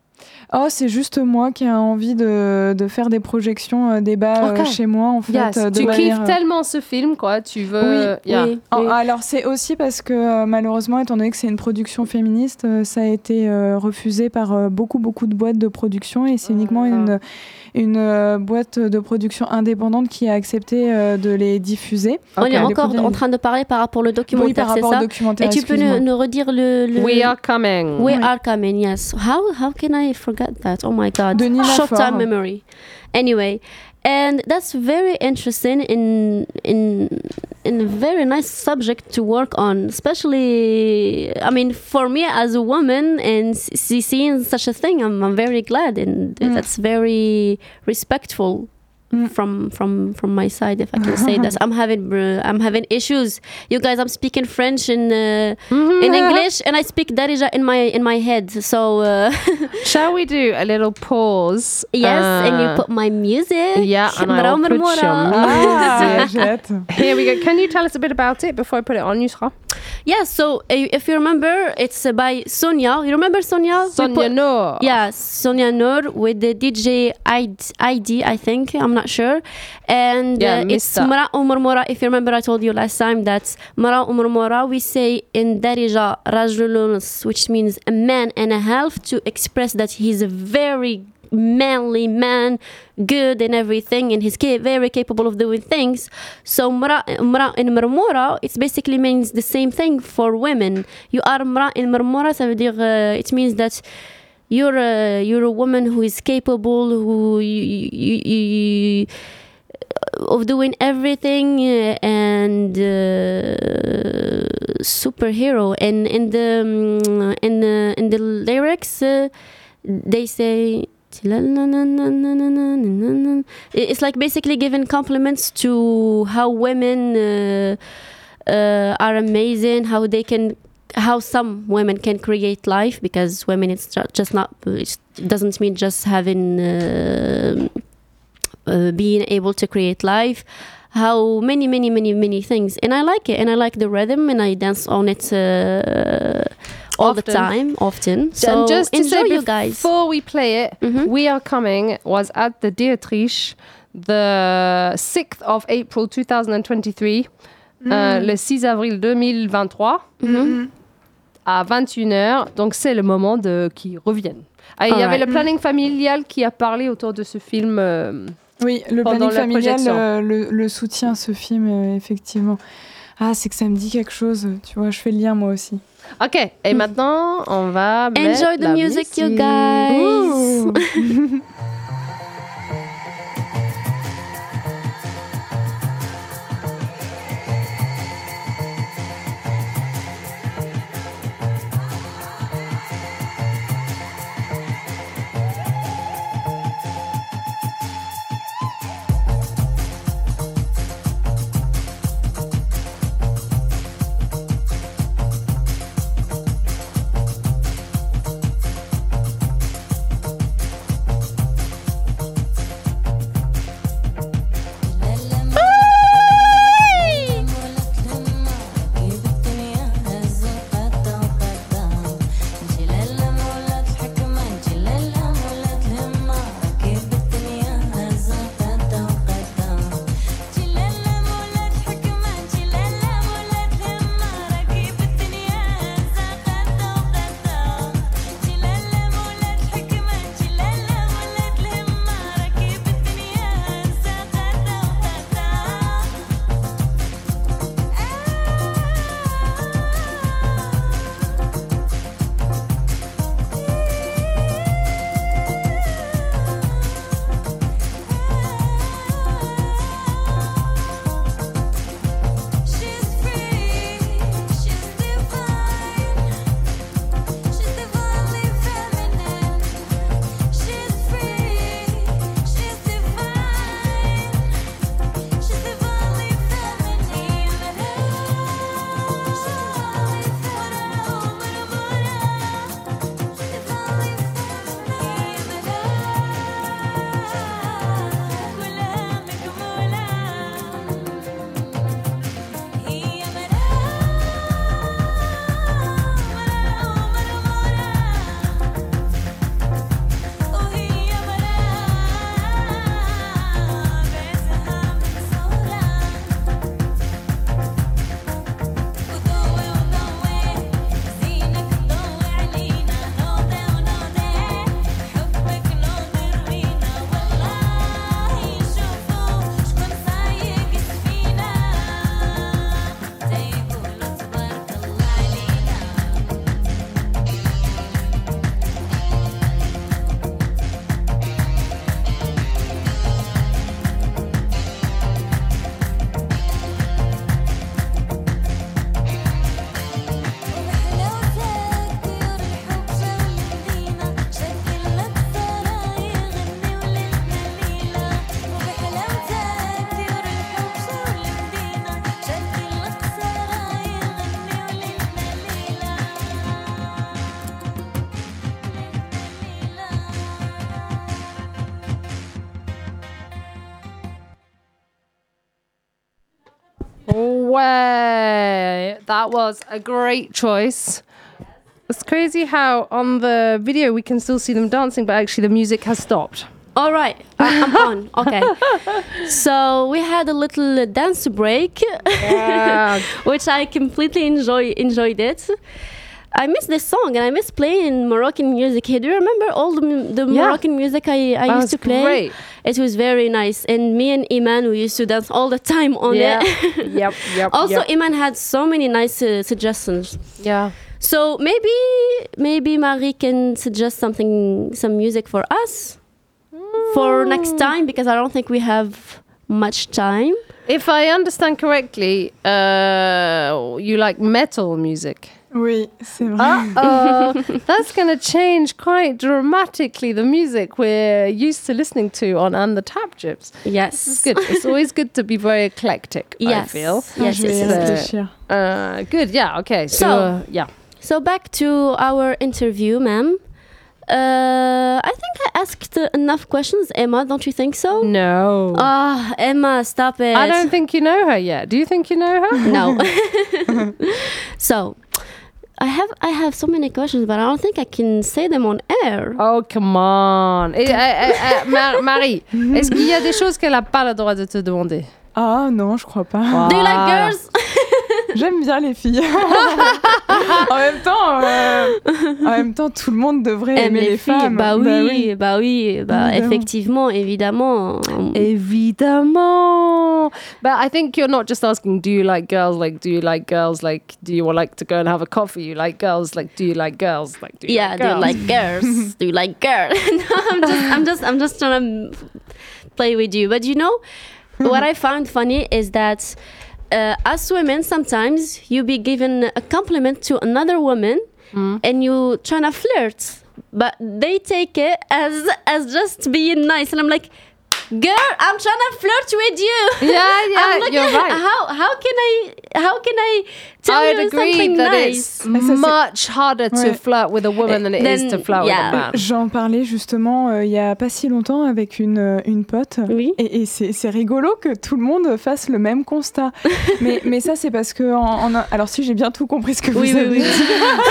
Oh, c'est juste moi qui ai envie de, de faire des projections, euh, débats euh, Ok. chez moi en fait. Yes. euh, de Tu manière, kiffes euh, tellement ce film, quoi. Tu veux. Oui, Yeah. Oui. Oh, Oui. alors c'est aussi parce que euh, malheureusement, étant donné que c'est une production féministe, euh, ça a été euh, refusé par euh, beaucoup beaucoup de boîtes de production et c'est uniquement Ah. une une euh, boîte de production indépendante qui a accepté euh, de les diffuser. On Ok. est Les encore premiers- en train de parler par rapport au Oui, documentaire, par c'est rapport ça? au documentaire. Et tu peux excuse-moi. nous, nous redire le, le... We are coming. We Oui. are coming, yes. How how can I forget that? Oh my god. De Nina Short Faure. time memory. Anyway, and that's very interesting in in in a very nice subject to work on, especially I mean for me as a woman and s- see- seeing such a thing, I'm I'm very glad and Mm. that's very respectful. Mm. From from from my side, if I can say that, I'm having uh, I'm having issues. You guys, I'm speaking French and uh, Mhm. in English, and I speak Darija in my in my head. So uh, Shall we do a little pause? yes, and you Uh, put my music. Yeah, and I will Mra put Mra your Mra. Ah, j'ai hâte. Here we go. Can you tell us a bit about it before I put it on, Yusra? Yeah. So uh, if you remember, it's uh, by Sonia. You remember Sonia? We Sonia put- Noor. Yeah, Sonia Noor with the D J I D, I think. I'm not sure. And Yeah, uh, it's Mister. Mara Umurmora. If you remember, I told you last time that Mara Umurmora, we say in Darija Rajulunus, which means a man and a half, to express that he's a very manly man, good and everything, and he's ca- very capable of doing things. So Mra, Mra in Marmora, it basically means the same thing for women. You are Mra in Marmora, ça veut dire, uh, it means that you're a, you're a woman who is capable, who you, you, you, of doing everything uh, and uh, superhero. And in the um, in the in the lyrics, uh, they say. It's like basically giving compliments to how women uh, uh, are amazing, how they can, how some women can create life, because women it's ju- just not, it doesn't mean just having, uh, uh, being able to create life. How many, many, many, many things, and I like it, and I like the rhythm, and I dance on it uh, all the Often. time, often. So and just to enjoy, say, you guys. before we play it, Mhm. We Are Coming was at the Dietrich the sixth of April twenty twenty-three, euh, le six avril deux mille vingt-trois, Mhm. à vingt et une heures. Donc, c'est le moment de qu'ils reviennent. Ah, il y avait Alright. le planning familial qui a parlé autour de ce film. euh, Oui, le Pendant planning la familial projection. euh, le, le soutient ce film, euh, effectivement. Ah, c'est que ça me dit quelque chose, tu vois, je fais le lien moi aussi. Ok, et maintenant, on va mettre Enjoy the la music, you musique. guys. Ouh. way. That was a great choice. It's crazy how on the video we can still see them dancing, but actually the music has stopped. All right, I- I'm on. Okay. So we had a little dance break, Yeah. which I completely enjoy enjoyed it. I miss this song and I miss playing Moroccan music here. Do you remember all the, mu- the Yeah. Moroccan music I, I That used was to play? great. It was very nice. And me and Iman, we used to dance all the time on Yeah. it. Yep, yep, Also, yep. Iman had so many nice uh, suggestions. Yeah. So maybe maybe Marie can suggest something, some music for us for next time, because I don't think we have much time. If I understand correctly, uh, you like metal music. Oui, c'est vrai. Uh, that's going to change quite dramatically the music we're used to listening to on And the Tap Gyps. Yes. It's good. It's always good to be very eclectic, I Yes. feel. Yes, Je vais y yes, yes. réfléchir. Uh, good, yeah, okay. So, So- uh, yeah. So back to our interview, ma'am. Uh, I think I asked uh, enough questions, Emma. Don't you think so? No. Ah, Emma, stop it. I don't think you know her yet. Do you think you know her? No. So, I have I have so many questions, but I don't think I can say them on air. Oh, come on. Et, euh, euh, euh, Ma- Marie, est-ce qu'il y a des choses qu'elle n'a pas le droit de te demander? Ah non, je crois pas. Do you like Voilà. girls? J'aime bien les filles. en même temps, euh, en même temps, tout le monde devrait Aime aimer les, filles? femmes. Bah oui, bah oui, bah Évidemment. effectivement, évidemment. Évidemment. But I think you're not just asking, do you like girls? Like, do you like girls? Like, do you like to go and have a coffee? You like girls? Like, do you like girls? Like, do you Yeah, like do you girls? like girls? Do you like girls? No, I'm just, I'm just, I'm just trying to play with you. But you know, what I found funny is that uh, as women, sometimes you be given a compliment to another woman, and you trying to flirt, but they take it as as just being nice, and I'm like, girl, I'm trying to flirt with you. Yeah, yeah, I'm looking you're at right. How how can I how can I tell I'd you agree something that nice? it's much harder to Ouais. flirt with a woman than it is Then, to flirt yeah. with a man. J'en parlais justement euh, il y a pas si longtemps avec une, euh, une pote. Oui. Et, et c'est, c'est rigolo que tout le monde fasse le même constat. mais, mais ça, c'est parce que. En, en- alors, si j'ai bien tout compris ce que vous Oui, oui, avez oui. dit.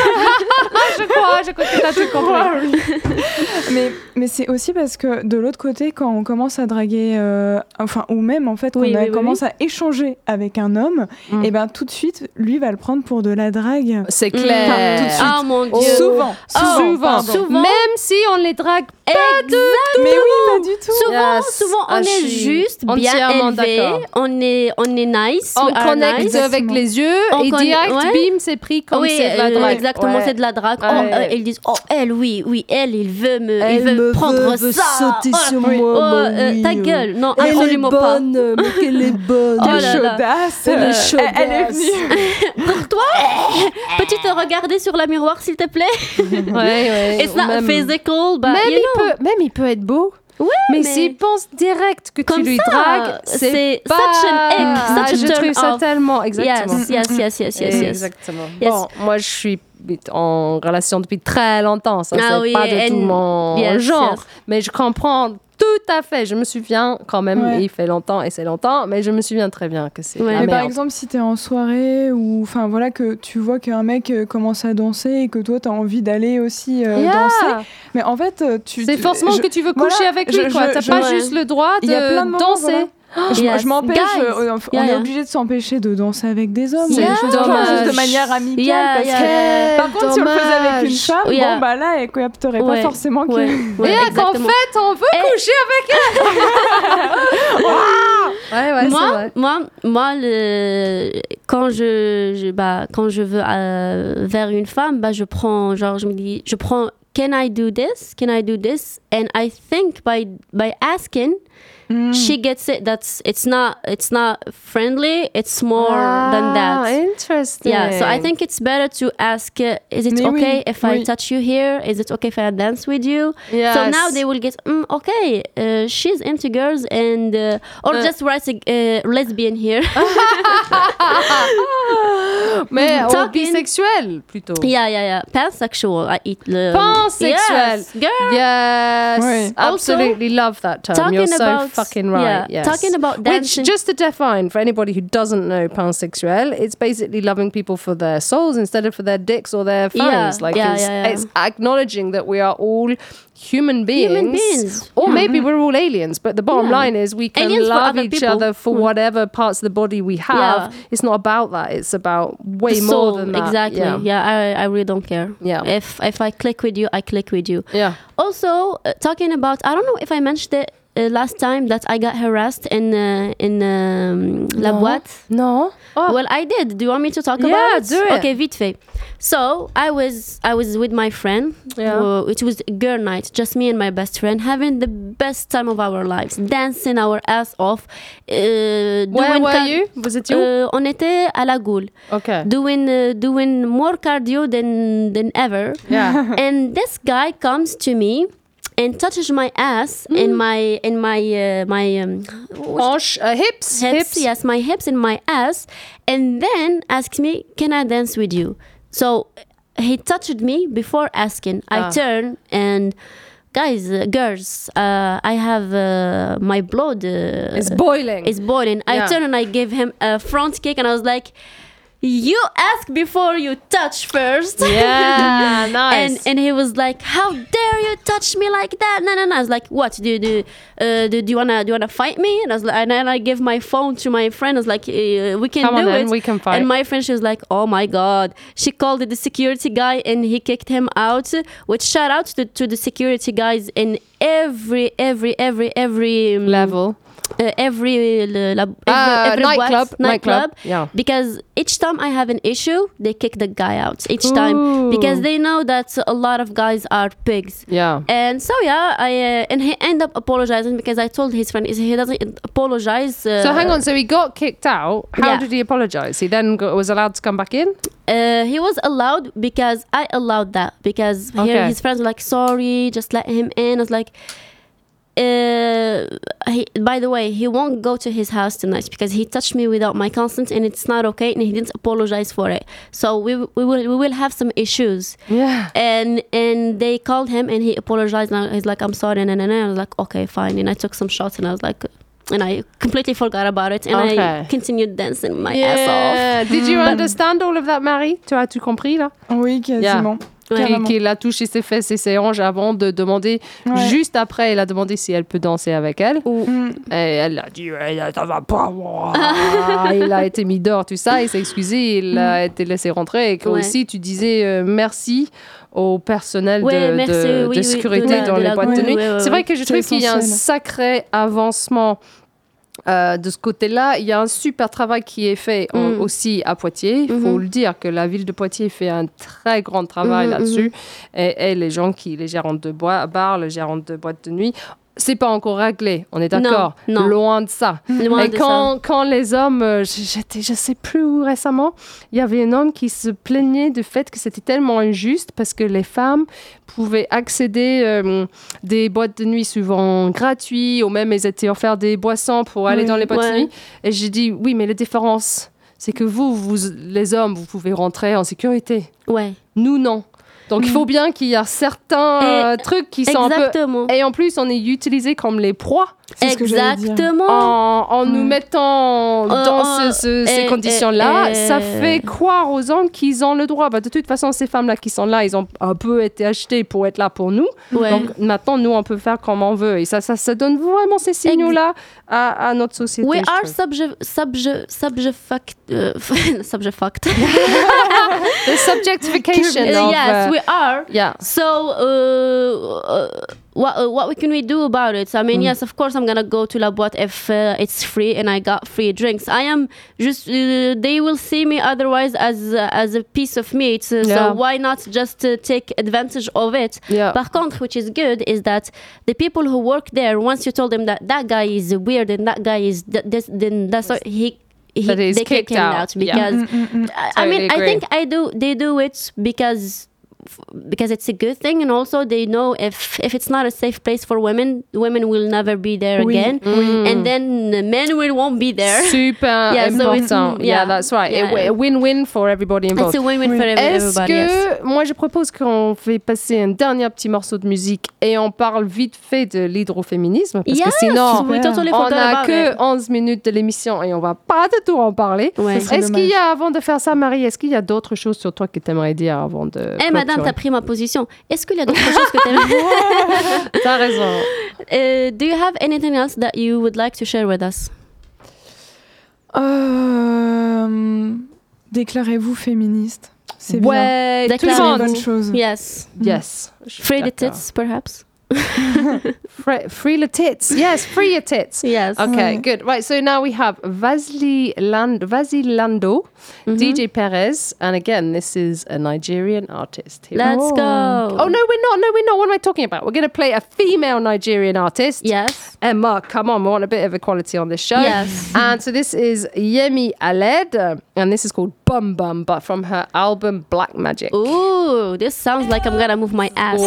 Je crois, je crois que t'as tout compris. mais, mais c'est aussi parce que de l'autre côté, quand on commence à draguer, euh, enfin, ou même en fait, quand Oui, on oui, oui, commence à échanger avec un homme, Mm. et ben tout de suite, lui va le prendre pour de la drague. C'est Mm. clair. Tout de suite. Oh mon Oh. dieu. Souvent, Oh, souvent, pardon. Souvent. Même si on les drague Exactement. Mais oui, pas du tout. Souvent, Yes. souvent on Ah, est je suis juste bien entièrement élevé, d'accord. on est, on est nice, on we are connecte nice. avec les yeux On et conna- direct, ouais. bim, c'est pris comme Oui, c'est de la euh, drague. exactement, Ouais. c'est de la drague. Oh, Ouais. euh, ils disent, oh, elle, oui, oui, elle, il veut me, Elle il veut me prendre veut, veut ça. sauter oh, sur oui. moi, Oh, bah euh, oui, ta euh. gueule, non, Elle est absolument pas. bonne, mais qu'elle est bonne. Oh Quelle là là. chaudasse. Elle est Euh, chaudasse. Elle, elle est venue. Pour toi, peux-tu te regarder sur la miroir, s'il te plaît? Ouais, ouais. It's not Même- physical, but Même you il, know. peut, même il peut être beau. Ouais, Mais, mais s'il pense direct que tu Comme lui ça, dragues, c'est c'est such pas... an ick, such Ah, a je turn trouve ça off. tellement... Exactement. Yes, yes, yes, yes, yes, yes. Exactement. Yes. Bon, moi, je suis en relation depuis très longtemps. Ça, Ah c'est oui, pas du and- tout mon yes, genre. yes. Mais je comprends tout à fait. Je me souviens quand même, Ouais. il fait longtemps et c'est longtemps, mais je me souviens très bien que c'est Ouais. la Mais par merde. exemple, si t'es en soirée ou enfin voilà que tu vois qu'un mec euh, commence à danser et que toi t'as envie d'aller aussi euh, Yeah. danser, mais en fait euh, tu C'est forcément je- que tu veux voilà, coucher avec lui, je- quoi. je- T'as je- pas ouais. juste le droit il y a plein de de moments, danser. voilà. Je, Yes. je m'empêche, Guys. euh, on, on Yeah, est yeah. obligé de s'empêcher de danser avec des hommes. C'est mais Yeah. juste, genre, dommage. juste de manière amicale. Yeah, parce yeah. que, par contre, si on le faisait avec une dommage. femme, Yeah. bon bah là, elle capterait Ouais. pas forcément que. Ouais, ouais, Et là, qu'en exactement. fait, on veut Et- coucher avec elle. Ouais, ouais, c'est moi, vrai. moi, moi, le, quand je, je- bah, quand je veux euh, vers une femme, bah, je prends, genre, je me dis, je prends, can I do this? Can I do this? And I think by by asking, Mm. she gets it. That's it's not it's not friendly. It's more than Ah, that. interesting. Yeah, so I think it's better to ask, uh, is it Mais okay oui, if I oui. touch you here? Is it okay if I dance with you? So Yes. now they will get, mm, okay, uh, she's into girls and, uh, or Uh. just write a uh, lesbian here. Mais oh, Talking- bisexuel plutôt. yeah, yeah, yeah. Pansexual, I eat the... Pansexuel. Yes, girl. Yes, Ouais. absolutely love that term. Talking You're so about fucking right. Yeah. Yes. Talking about dancing. Which, just to define for anybody who doesn't know pansexuel, it's basically loving people for their souls instead of for their dicks or their fangs. Yeah. Like Yeah, it's, yeah, yeah. it's acknowledging that we are all human beings, Human beings. or Yeah. maybe we're all aliens. But the bottom Yeah. line is we can Aliens for love other each people. other for Mm. whatever parts of the body we have. Yeah. It's not about that. It's about way The more soul, than that. exactly. Yeah. Yeah, I, I really don't care. Yeah. If if I click with you, I click with you. Yeah. Also, uh, talking about, I don't know if I mentioned it uh, last time that I got harassed in uh, in um, La No. Boîte. No. Oh. Well, I did. Do you want me to talk Yeah, about it? do it. Okay, vite fait. So I was I was with my friend. Yeah. Uh, it was a girl night, just me and my best friend, having the best time of our lives, dancing our ass off. Uh, Where doing were car- you? Was it you? Uh, on était à La Goule, Okay. doing uh, doing more cardio than than ever. Yeah. And this guy comes to me and touches my ass Mm. in my in my uh, my um, Hanche, uh, hips, hips, yes, my hips and my ass, and then asks me, "Can I dance with you?" So he touched me before asking. Ah. I turn and, guys, uh, girls, uh, I have uh, my blood. Uh, It's boiling. Is boiling. Yeah. I turn and I give him a front kick, and I was like, "You ask before you touch first." Yeah, nice. And and he was like, "How dare you touch me like that?" No, no, no. I was like, "What? Do do uh, do, do you wanna do you wanna fight me?" And I was like, and then I give my phone to my friend. I was like, uh, "We can Come on do then, it. we can fight. And my friend, she was like, "Oh my god!" She called the security guy, and he kicked him out. Which shout out to to the security guys in every every every every um, Level. uh, every, uh, lab, every, Uh, every nightclub, boîte, nightclub, yeah. because each time I have an issue, they kick the guy out each time Ooh. because they know that a lot of guys are pigs. Yeah. And so yeah, I uh, and he ended up apologizing because I told his friend is he doesn't apologize. Uh, So hang on. So he got kicked out. How Yeah. did he apologize? He then got, was allowed to come back in. Uh, he was allowed because I allowed that because Okay. here his friends were like, "Sorry, just let him in." I was like. Uh, he, by the way, he won't go to his house tonight because he touched me without my consent, and it's not okay, and he didn't apologize for it. So we we will we will have some issues. Yeah. And and they called him, and he apologized. And he's like, "I'm sorry," and, and, and I was like, "Okay, fine." And I took some shots, and I was like, and I completely forgot about it, and Okay. I continued dancing my ass off. Yeah. Did you understand all of that, Marie? Tu as tout compris là? Oui, quasiment. Ouais. Qu'il Carrément. qu'il a touché ses fesses et ses hanches avant de demander. Ouais. Juste après, il a demandé si elle peut danser avec elle. Mm. Et elle a dit ouais, ça va pas. moi. Il a été mis dehors, tout ça. Il s'est excusé. Il a été laissé rentrer. Et que Ouais. aussi, tu disais euh, merci au personnel Ouais, de, merci, de, oui, de oui, sécurité de la- dans de les la- boîtes ouais, de nuit. ouais, ouais, C'est ouais. vrai que je C'est trouve qu'il y a un essentiel. sacré avancement. Euh, de ce côté-là, il y a un super travail qui est fait en- Mm. aussi à Poitiers. Il faut Mhm. le dire que la ville de Poitiers fait un très grand travail Mhm, là-dessus. Et, et les gens qui, les gérants de bois, bars, les gérants de boîtes de nuit, c'est pas encore réglé. On est d'accord. Non, non. Loin de ça. Loin et de quand, quand les hommes, euh, j'étais, je sais plus où récemment, il y avait un homme qui se plaignait du fait que c'était tellement injuste parce que les femmes pouvaient accéder euh, des boîtes de nuit souvent gratuites ou même elles étaient offertes des boissons pour aller Oui, dans les boîtes ouais. de nuit. Et j'ai dit oui, mais la différence, c'est que vous, vous, les hommes, vous pouvez rentrer en sécurité. Ouais, Nous, non. Donc, il faut bien qu'il y a certains Et- euh, trucs qui sont un peu... exactement. Et en plus, on est utilisé comme les proies C'est ce que j'allais dire. Exactement. en, en nous Mm. mettant dans Euh, ce- ce- ces et- conditions-là. et- Ça et- fait croire aux hommes qu'ils ont le droit. Bah, de toute façon, ces femmes-là qui sont là, ils ont un peu été achetées pour être là pour nous. Ouais. Donc, maintenant, nous, on peut faire comme on veut. Et ça, ça, ça donne vraiment ces signaux-là à, à notre société. We je are trouve. subject subject subject uh, subject fact. The subjectification Uh, of... yes, uh, we are. yeah. So, uh, uh, what uh, what can we do about it? I mean, yes, of course, I'm gonna go to La Boîte if uh, it's free and I got free drinks. I am just uh, they will see me otherwise as uh, as a piece of meat. So, Yeah. so why not just uh, take advantage of it? Yeah. Par contre, which is good, is that the people who work there, once you told them that that guy is weird and that guy is th- this, then that's what he. He, That he's they kick kicked him out. out Yeah. because Mm, mm, mm. I- I Totally mean I agree. think I do they do it because because it's a good thing, and also they know if if it's not a safe place for women, women will never be there Oui. again, Mm. and then the men will won't be there. Super Yeah, so it's- important. yeah, yeah. that's right. Yeah. A, a win-win for everybody involved. It's a win-win Oui. for every- Est-ce everybody. yes. que moi je propose qu'on fait passer un dernier petit morceau de musique et on parle vite fait de l'hydroféminisme parce Yes, que sinon we totally on forgot n'a about que it. onze minutes de l'émission et on va pas de tout en parler. Ouais. Ce serait Est-ce qu'il y dommage. a, avant de faire ça, Marie, est-ce qu'il y a d'autres choses sur toi que tu aimerais dire avant de Eh madame, t'as pris ma position. Est-ce qu'il y a d'autres choses que t'aimes? T'as raison. Uh, do you have anything else that you would like to share with us? Euh, déclarez-vous féministe. C'est bien. Ouais, tout C'est le une Déclarez-vous. monde. bonne chose. Yes. Yes. Je suis Free the d'accord. tits, perhaps. Free, free the tits. Yes, free your tits. Yes. Okay, good. Right, so now we have Vasily Land- Vasilando, D J Perez, and again, this is a Nigerian artist. Here we Let's Oh. go. Oh, no, we're not. No, we're not. What am I talking about? We're going to play a female Nigerian artist. Yes. Emma, come on. We want a bit of equality on this show. Yes. And so this is Yemi Aled, uh, and this is called Bum Bum, but from her album Black Magic. Ooh, this sounds like I'm gonna move my ass.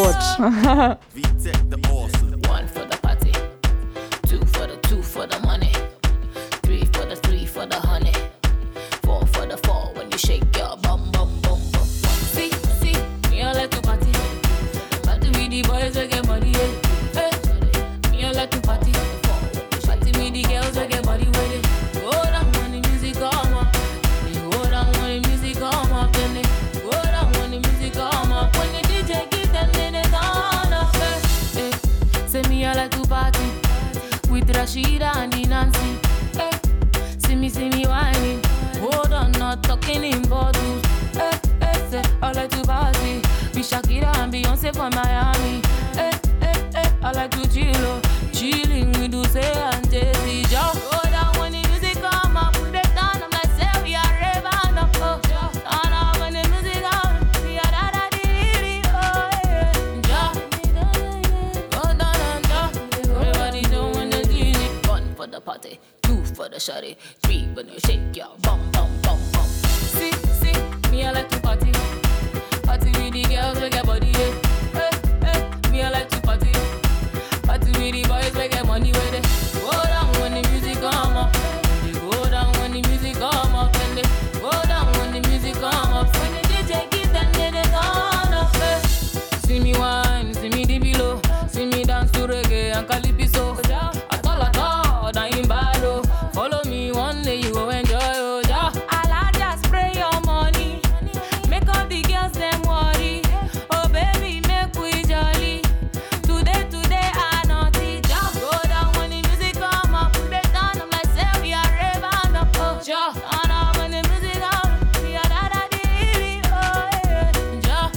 One for the party, two for the two for the money, three for the three for the honey, four for the four when you shake your bum bum bum bum. See, see, me I like to party, party with the boys that get money. Yeah. Hey, me I like to party, party with the girls that get body with it. Go down when the music come up, they go down when the music come up, then they go down when the music come up. When the D J give them, then they turn up. Hey, hey. Say me I like to party with Rashida and the Nancy. Eh, see me, see me whining. Hold on, not talking in bottles. Eh, eh, say I like to party with Shakira and Beyonce from Miami. Eh, eh, eh, I like to chill, oh, chilling with Uche and Jay-Z. Just go down when the music come up, put it down. I'm like, say we are raving up. Oh, turn up when the music come. We are da da dee dee. Oh yeah, just go down and down. Everybody doing the D J. One for the party, two for the shawty, three when you shake your bum bum bum bum. See, see, me I like to party, party with the girls we get body. Yeah. Eh, eh, me I like to party, party with the boys we get money with it. Go down when the music come up, they go down when the music come up, and they go down when the music come up. When the D J give them, then they turn up. Eh. See me wine, see me dip below, see me dance to reggae and calypso. At all, at all, that in bad, oh. Follow me one day, you go enjoy, oh, yeah. I'll just spray your money, make all the girls them worry. Oh baby, make we jolly. Today, today, I naughty. Just go down when the music come up, put it down. I'm like, say we are raving up, oh, yeah. Turn up when the music come, we are da da dee dee, oh yeah, yeah.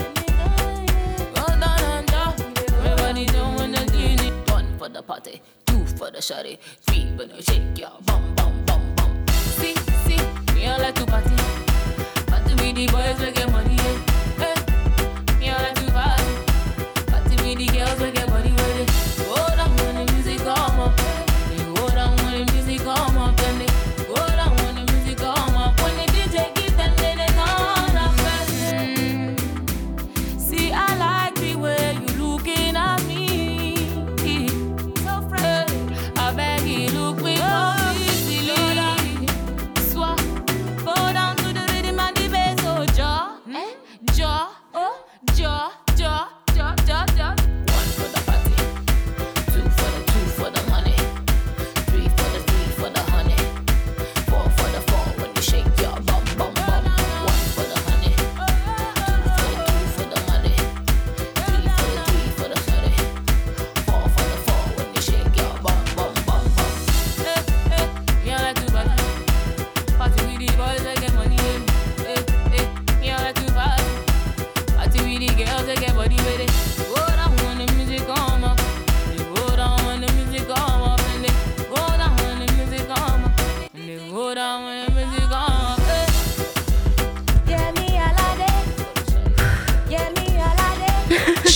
Go down and down, everybody doing the D J. One for the party, two for the shawty, three when you shake your bum bum bum bum. See, see, me I like to party, party with the boys we get money. Yeah. Eh, me I like to party, party with the girls we get money with it. Go down when the music come up, they go down when the music come up, and they go down when the music come up. When the D J give them, then they turn up. Mm. See, I like the way you looking at me. So fresh. I beg you, look with completely. Swap. Go down to the rhythm and the bass, oh, ja.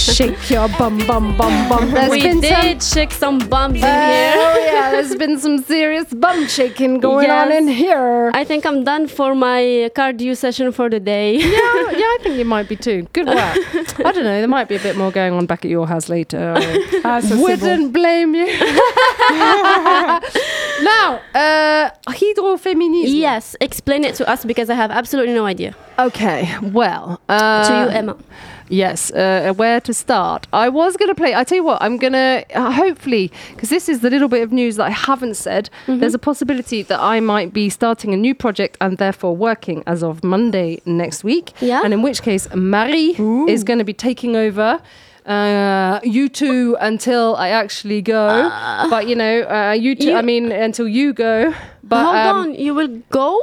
Shake your bum, bum, bum, bum. There's We been did some... shake some bums in Oh, here. yeah, there's been some serious bum shaking going on Yes. in here. I think I'm done for my cardio session for the day. yeah, yeah, I think you might be too. Good work. I don't know, there might be a bit more going on back at your house later. I Ah, ça, c'est wouldn't bon. blame you. Now, uh, hydrofeminism. Yes, explain it to us because I have absolutely no idea. Okay, well. Uh, to you, Emma. Yes, uh, where to start? I was going to play. I tell you what, I'm going to uh, hopefully, because this is the little bit of news that I haven't said. Mm-hmm. There's a possibility that I might be starting a new project and therefore working as of Monday next week. Yeah. And in which case, Marie Ooh. is going to be taking over. Uh, you two until I actually go, but you know, uh, you two. You- I mean, until you go. But Hold um, on, you will go?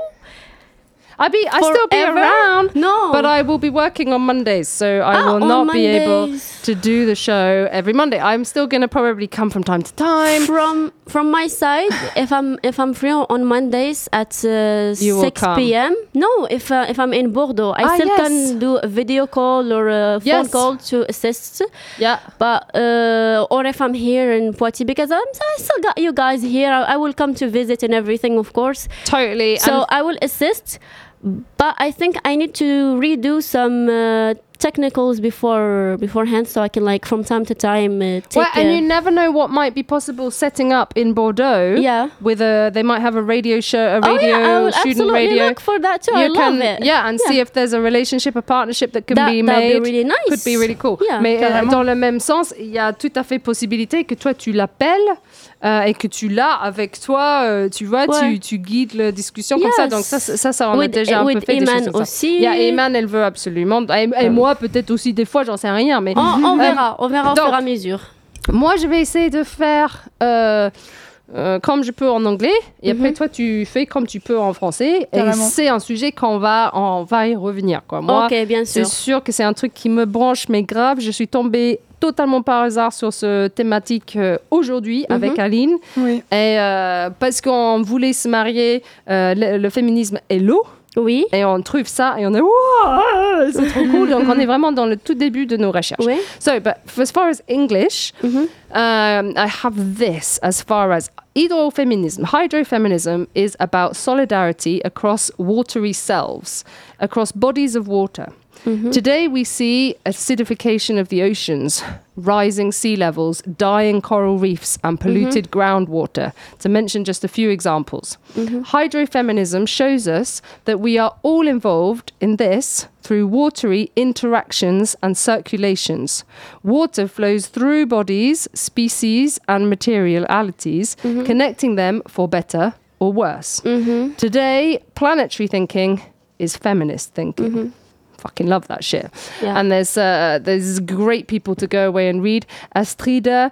I be I still be Forever? around. No. But I will be working on Mondays, so I Ah, will on not be able Mondays. to do the show every Monday. I'm still gonna probably come from time to time. From from my side, if I'm if I'm free on Mondays at uh, You will six come. p.m. No, if uh, if I'm in Bordeaux, I Ah, still yes. can do a video call or a phone Yes. call to assist. Yeah. But uh, or if I'm here in Poitiers, because I'm I still got you guys here. I, I will come to visit and everything, of course. Totally. So and I will assist, but I think I need to redo some uh, technicals before beforehand, so I can like from time to time uh, take. well, and a- you never know what might be possible setting up in Bordeaux. Yeah. With a, they might have a radio show, a Oh, radio yeah, I will student absolutely radio. look for that too. You I love can, it. yeah, and see if there's a relationship, a partnership that can That- be that'd made. be really nice. Could be really cool. Yeah, Mais euh, carrément. dans le même sens, il y a tout à fait possibilité que toi tu l'appelles euh, et que tu l'as avec toi. euh, tu vois, Ouais. tu, tu guides la discussion comme ça. Yes. Donc ça, ça, ça, ça, on a With- déjà un with peu fait des Eman choses comme ça. aussi. Il y a Eman, elle veut absolument. Et, et moi, peut-être aussi des fois, j'en sais rien. Mais On, on Euh, verra, on verra au donc, fur et à mesure. moi, je vais essayer de faire euh, euh, comme je peux en anglais, et après Mhm. toi, tu fais comme tu peux en français. Et Carrément. c'est un sujet qu'on va, on va y revenir. Quoi. Moi, Ok, bien c'est sûr. sûr que c'est un truc qui me branche, mais grave. Je suis tombée totalement par hasard sur ce thématique euh, aujourd'hui Mhm. avec Aline. Oui. Et euh, parce qu'on voulait se marier, euh, le, le féminisme est l'eau. Oui, Et on trouve ça et on est wow, c'est trop cool. Donc on est vraiment dans le tout début de nos recherches. oui. So, but as far as English, Mhm. um, I have this as far as hydrofeminism. Hydrofeminism is about solidarity across watery selves, across bodies of water. Today we see acidification of the oceans, rising sea levels, dying coral reefs, and polluted groundwater, to mention just a few examples. Hydrofeminism shows us that we are all involved in this through watery interactions and circulations. Water flows through bodies, species, and materialities, connecting them for better or worse. Today, planetary thinking is feminist thinking. Fucking love that shit. Yeah. And there's uh, there's great people to go away and read. Astrida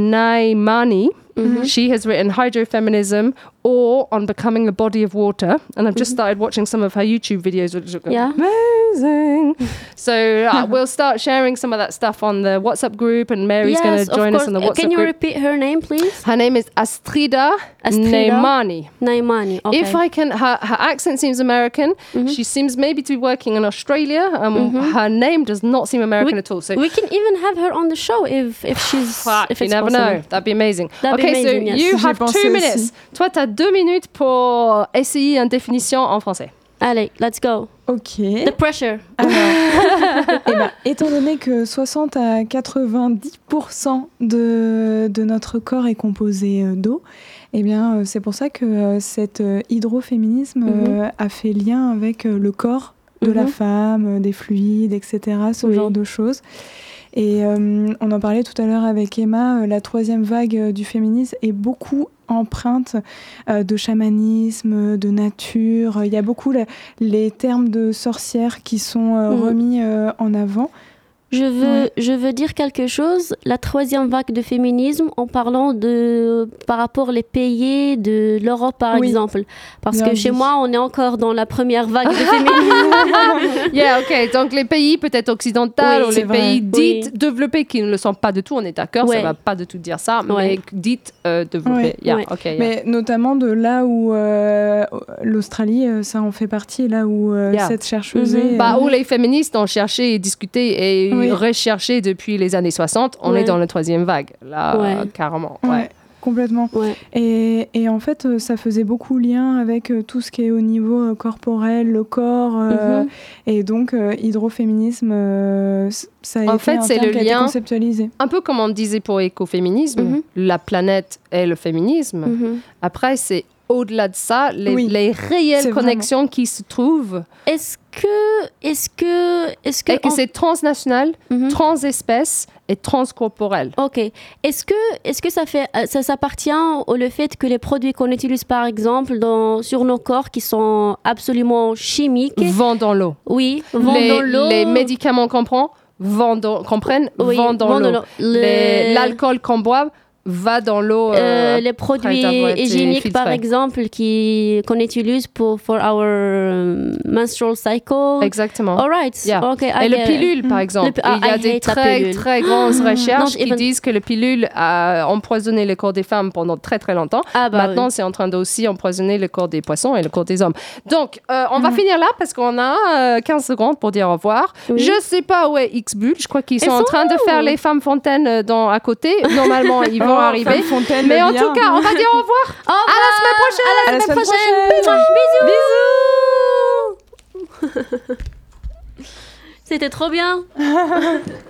Naimani, she has written Hydrofeminism or On Becoming a Body of Water. And I've just started watching some of her YouTube videos, which are Yeah. amazing. So uh, we'll start sharing some of that stuff on the WhatsApp group, and Mary's going Yes, to of join us course. on the Uh, WhatsApp Can you group. repeat her name, please? Her name is Astrida, Astrida? Naimani. Naimani. Okay. If I can, her, her accent seems American. She seems maybe to be working in Australia. Um, Her name does not seem American we, at all. So we can even have her on the show if if she's fuck, if you it's never possible. know. That'd be amazing. That'd be okay, amazing, so yes. you J'y have pensais two aussi. minutes. Toi, t'as deux minutes pour essayer une définition en français. Allez, let's go. Ok. The pressure. Alors, eh ben, étant donné que soixante à quatre-vingt-dix pour cent de, de notre corps est composé euh, d'eau, eh bien, euh, c'est pour ça que euh, cet euh, hydroféminisme euh, a fait lien avec euh, le corps de la Mhm. femme, euh, des fluides, et cetera, ce Oui. genre de choses. Et euh, on en parlait tout à l'heure avec Emma, euh, la troisième vague euh, du féminisme est beaucoup empreinte euh, de chamanisme, de nature. Il y a beaucoup la- les termes de sorcières qui sont euh, Mhm. remis euh, en avant. Je veux, Ouais. je veux dire quelque chose. La troisième vague de féminisme, en parlant de par rapport les pays de l'Europe, par Oui. exemple. Parce Bien que chez dit. moi, on est encore dans la première vague de féminisme. Yeah, ok. Donc les pays peut-être occidentaux Oui, ou c'est les vrai. pays dits Oui. développés qui ne le sont pas du tout, on est d'accord, ça Ouais. va pas du tout dire ça, mais Ouais. dites euh, développés. Ouais. Yeah, Ouais. ok. yeah. Mais notamment de là où euh, l'Australie, euh, ça en fait partie, là où euh, Yeah. cette chercheuse Mhm. est, Bah, euh, où les féministes ont cherché et discuté et Oui. Oui. recherché depuis les années soixante. On Ouais. est dans la troisième vague, là, Ouais. euh, carrément. Ouais, Ouais. complètement. Ouais. Et, et en fait, euh, ça faisait beaucoup lien avec euh, tout ce qui est au niveau euh, corporel, le corps. euh, Mhm. Et donc, euh, hydroféminisme, euh, c- ça a En été fait, un c'est terme le qui a été lien- conceptualisé. Un peu comme on disait pour écoféminisme, Mhm. la planète et le féminisme. Mhm. Après, c'est au-delà de ça, les, Oui. les C'est réelles vraiment- connexions qui se trouvent Est-ce que, est-ce que, est-ce que, et que on- c'est transnational, Mhm. transespèce et transcorporel. Ok. Est-ce que, est-ce que ça fait, euh, ça s'appartient au le fait que les produits qu'on utilise par exemple dans, sur nos corps qui sont absolument chimiques, Vent dans l'eau. oui, vont les, dans l'eau. les médicaments qu'on prend, vont dans- qu'on prenne, Oui, vont dans vont dans l'eau. l'eau. Les- Le- L'alcool qu'on boit va dans l'eau. Euh, euh, les après produits avoir été hygiéniques, par filtrés. exemple, qui qu'on utilise pour for our um, menstrual cycle. Exactement. All right. Yeah. Okay, I Et le get it. pilule, par exemple. Le pi- ah, il y a I des hate la très, pilule. très grandes recherches Non, qui even- disent que le pilule a empoisonné le corps des femmes pendant très, très longtemps. Ah bah Maintenant, oui. c'est en train d'aussi empoisonner le corps des poissons et le corps des hommes. Donc, euh, on va finir là parce qu'on a euh, quinze secondes pour dire au revoir. Oui. Je sais pas où est X-Bull. Je crois qu'ils sont Ils en sont train de où faire les femmes fontaines euh, dans, à côté. Normalement, ils vont Oh, arriver. Femme Fontaine, Mais le en bien. tout cas, on va dire au revoir. Au revoir. À la semaine prochaine. À la semaine prochaine. Bisous. Bisous. C'était trop bien.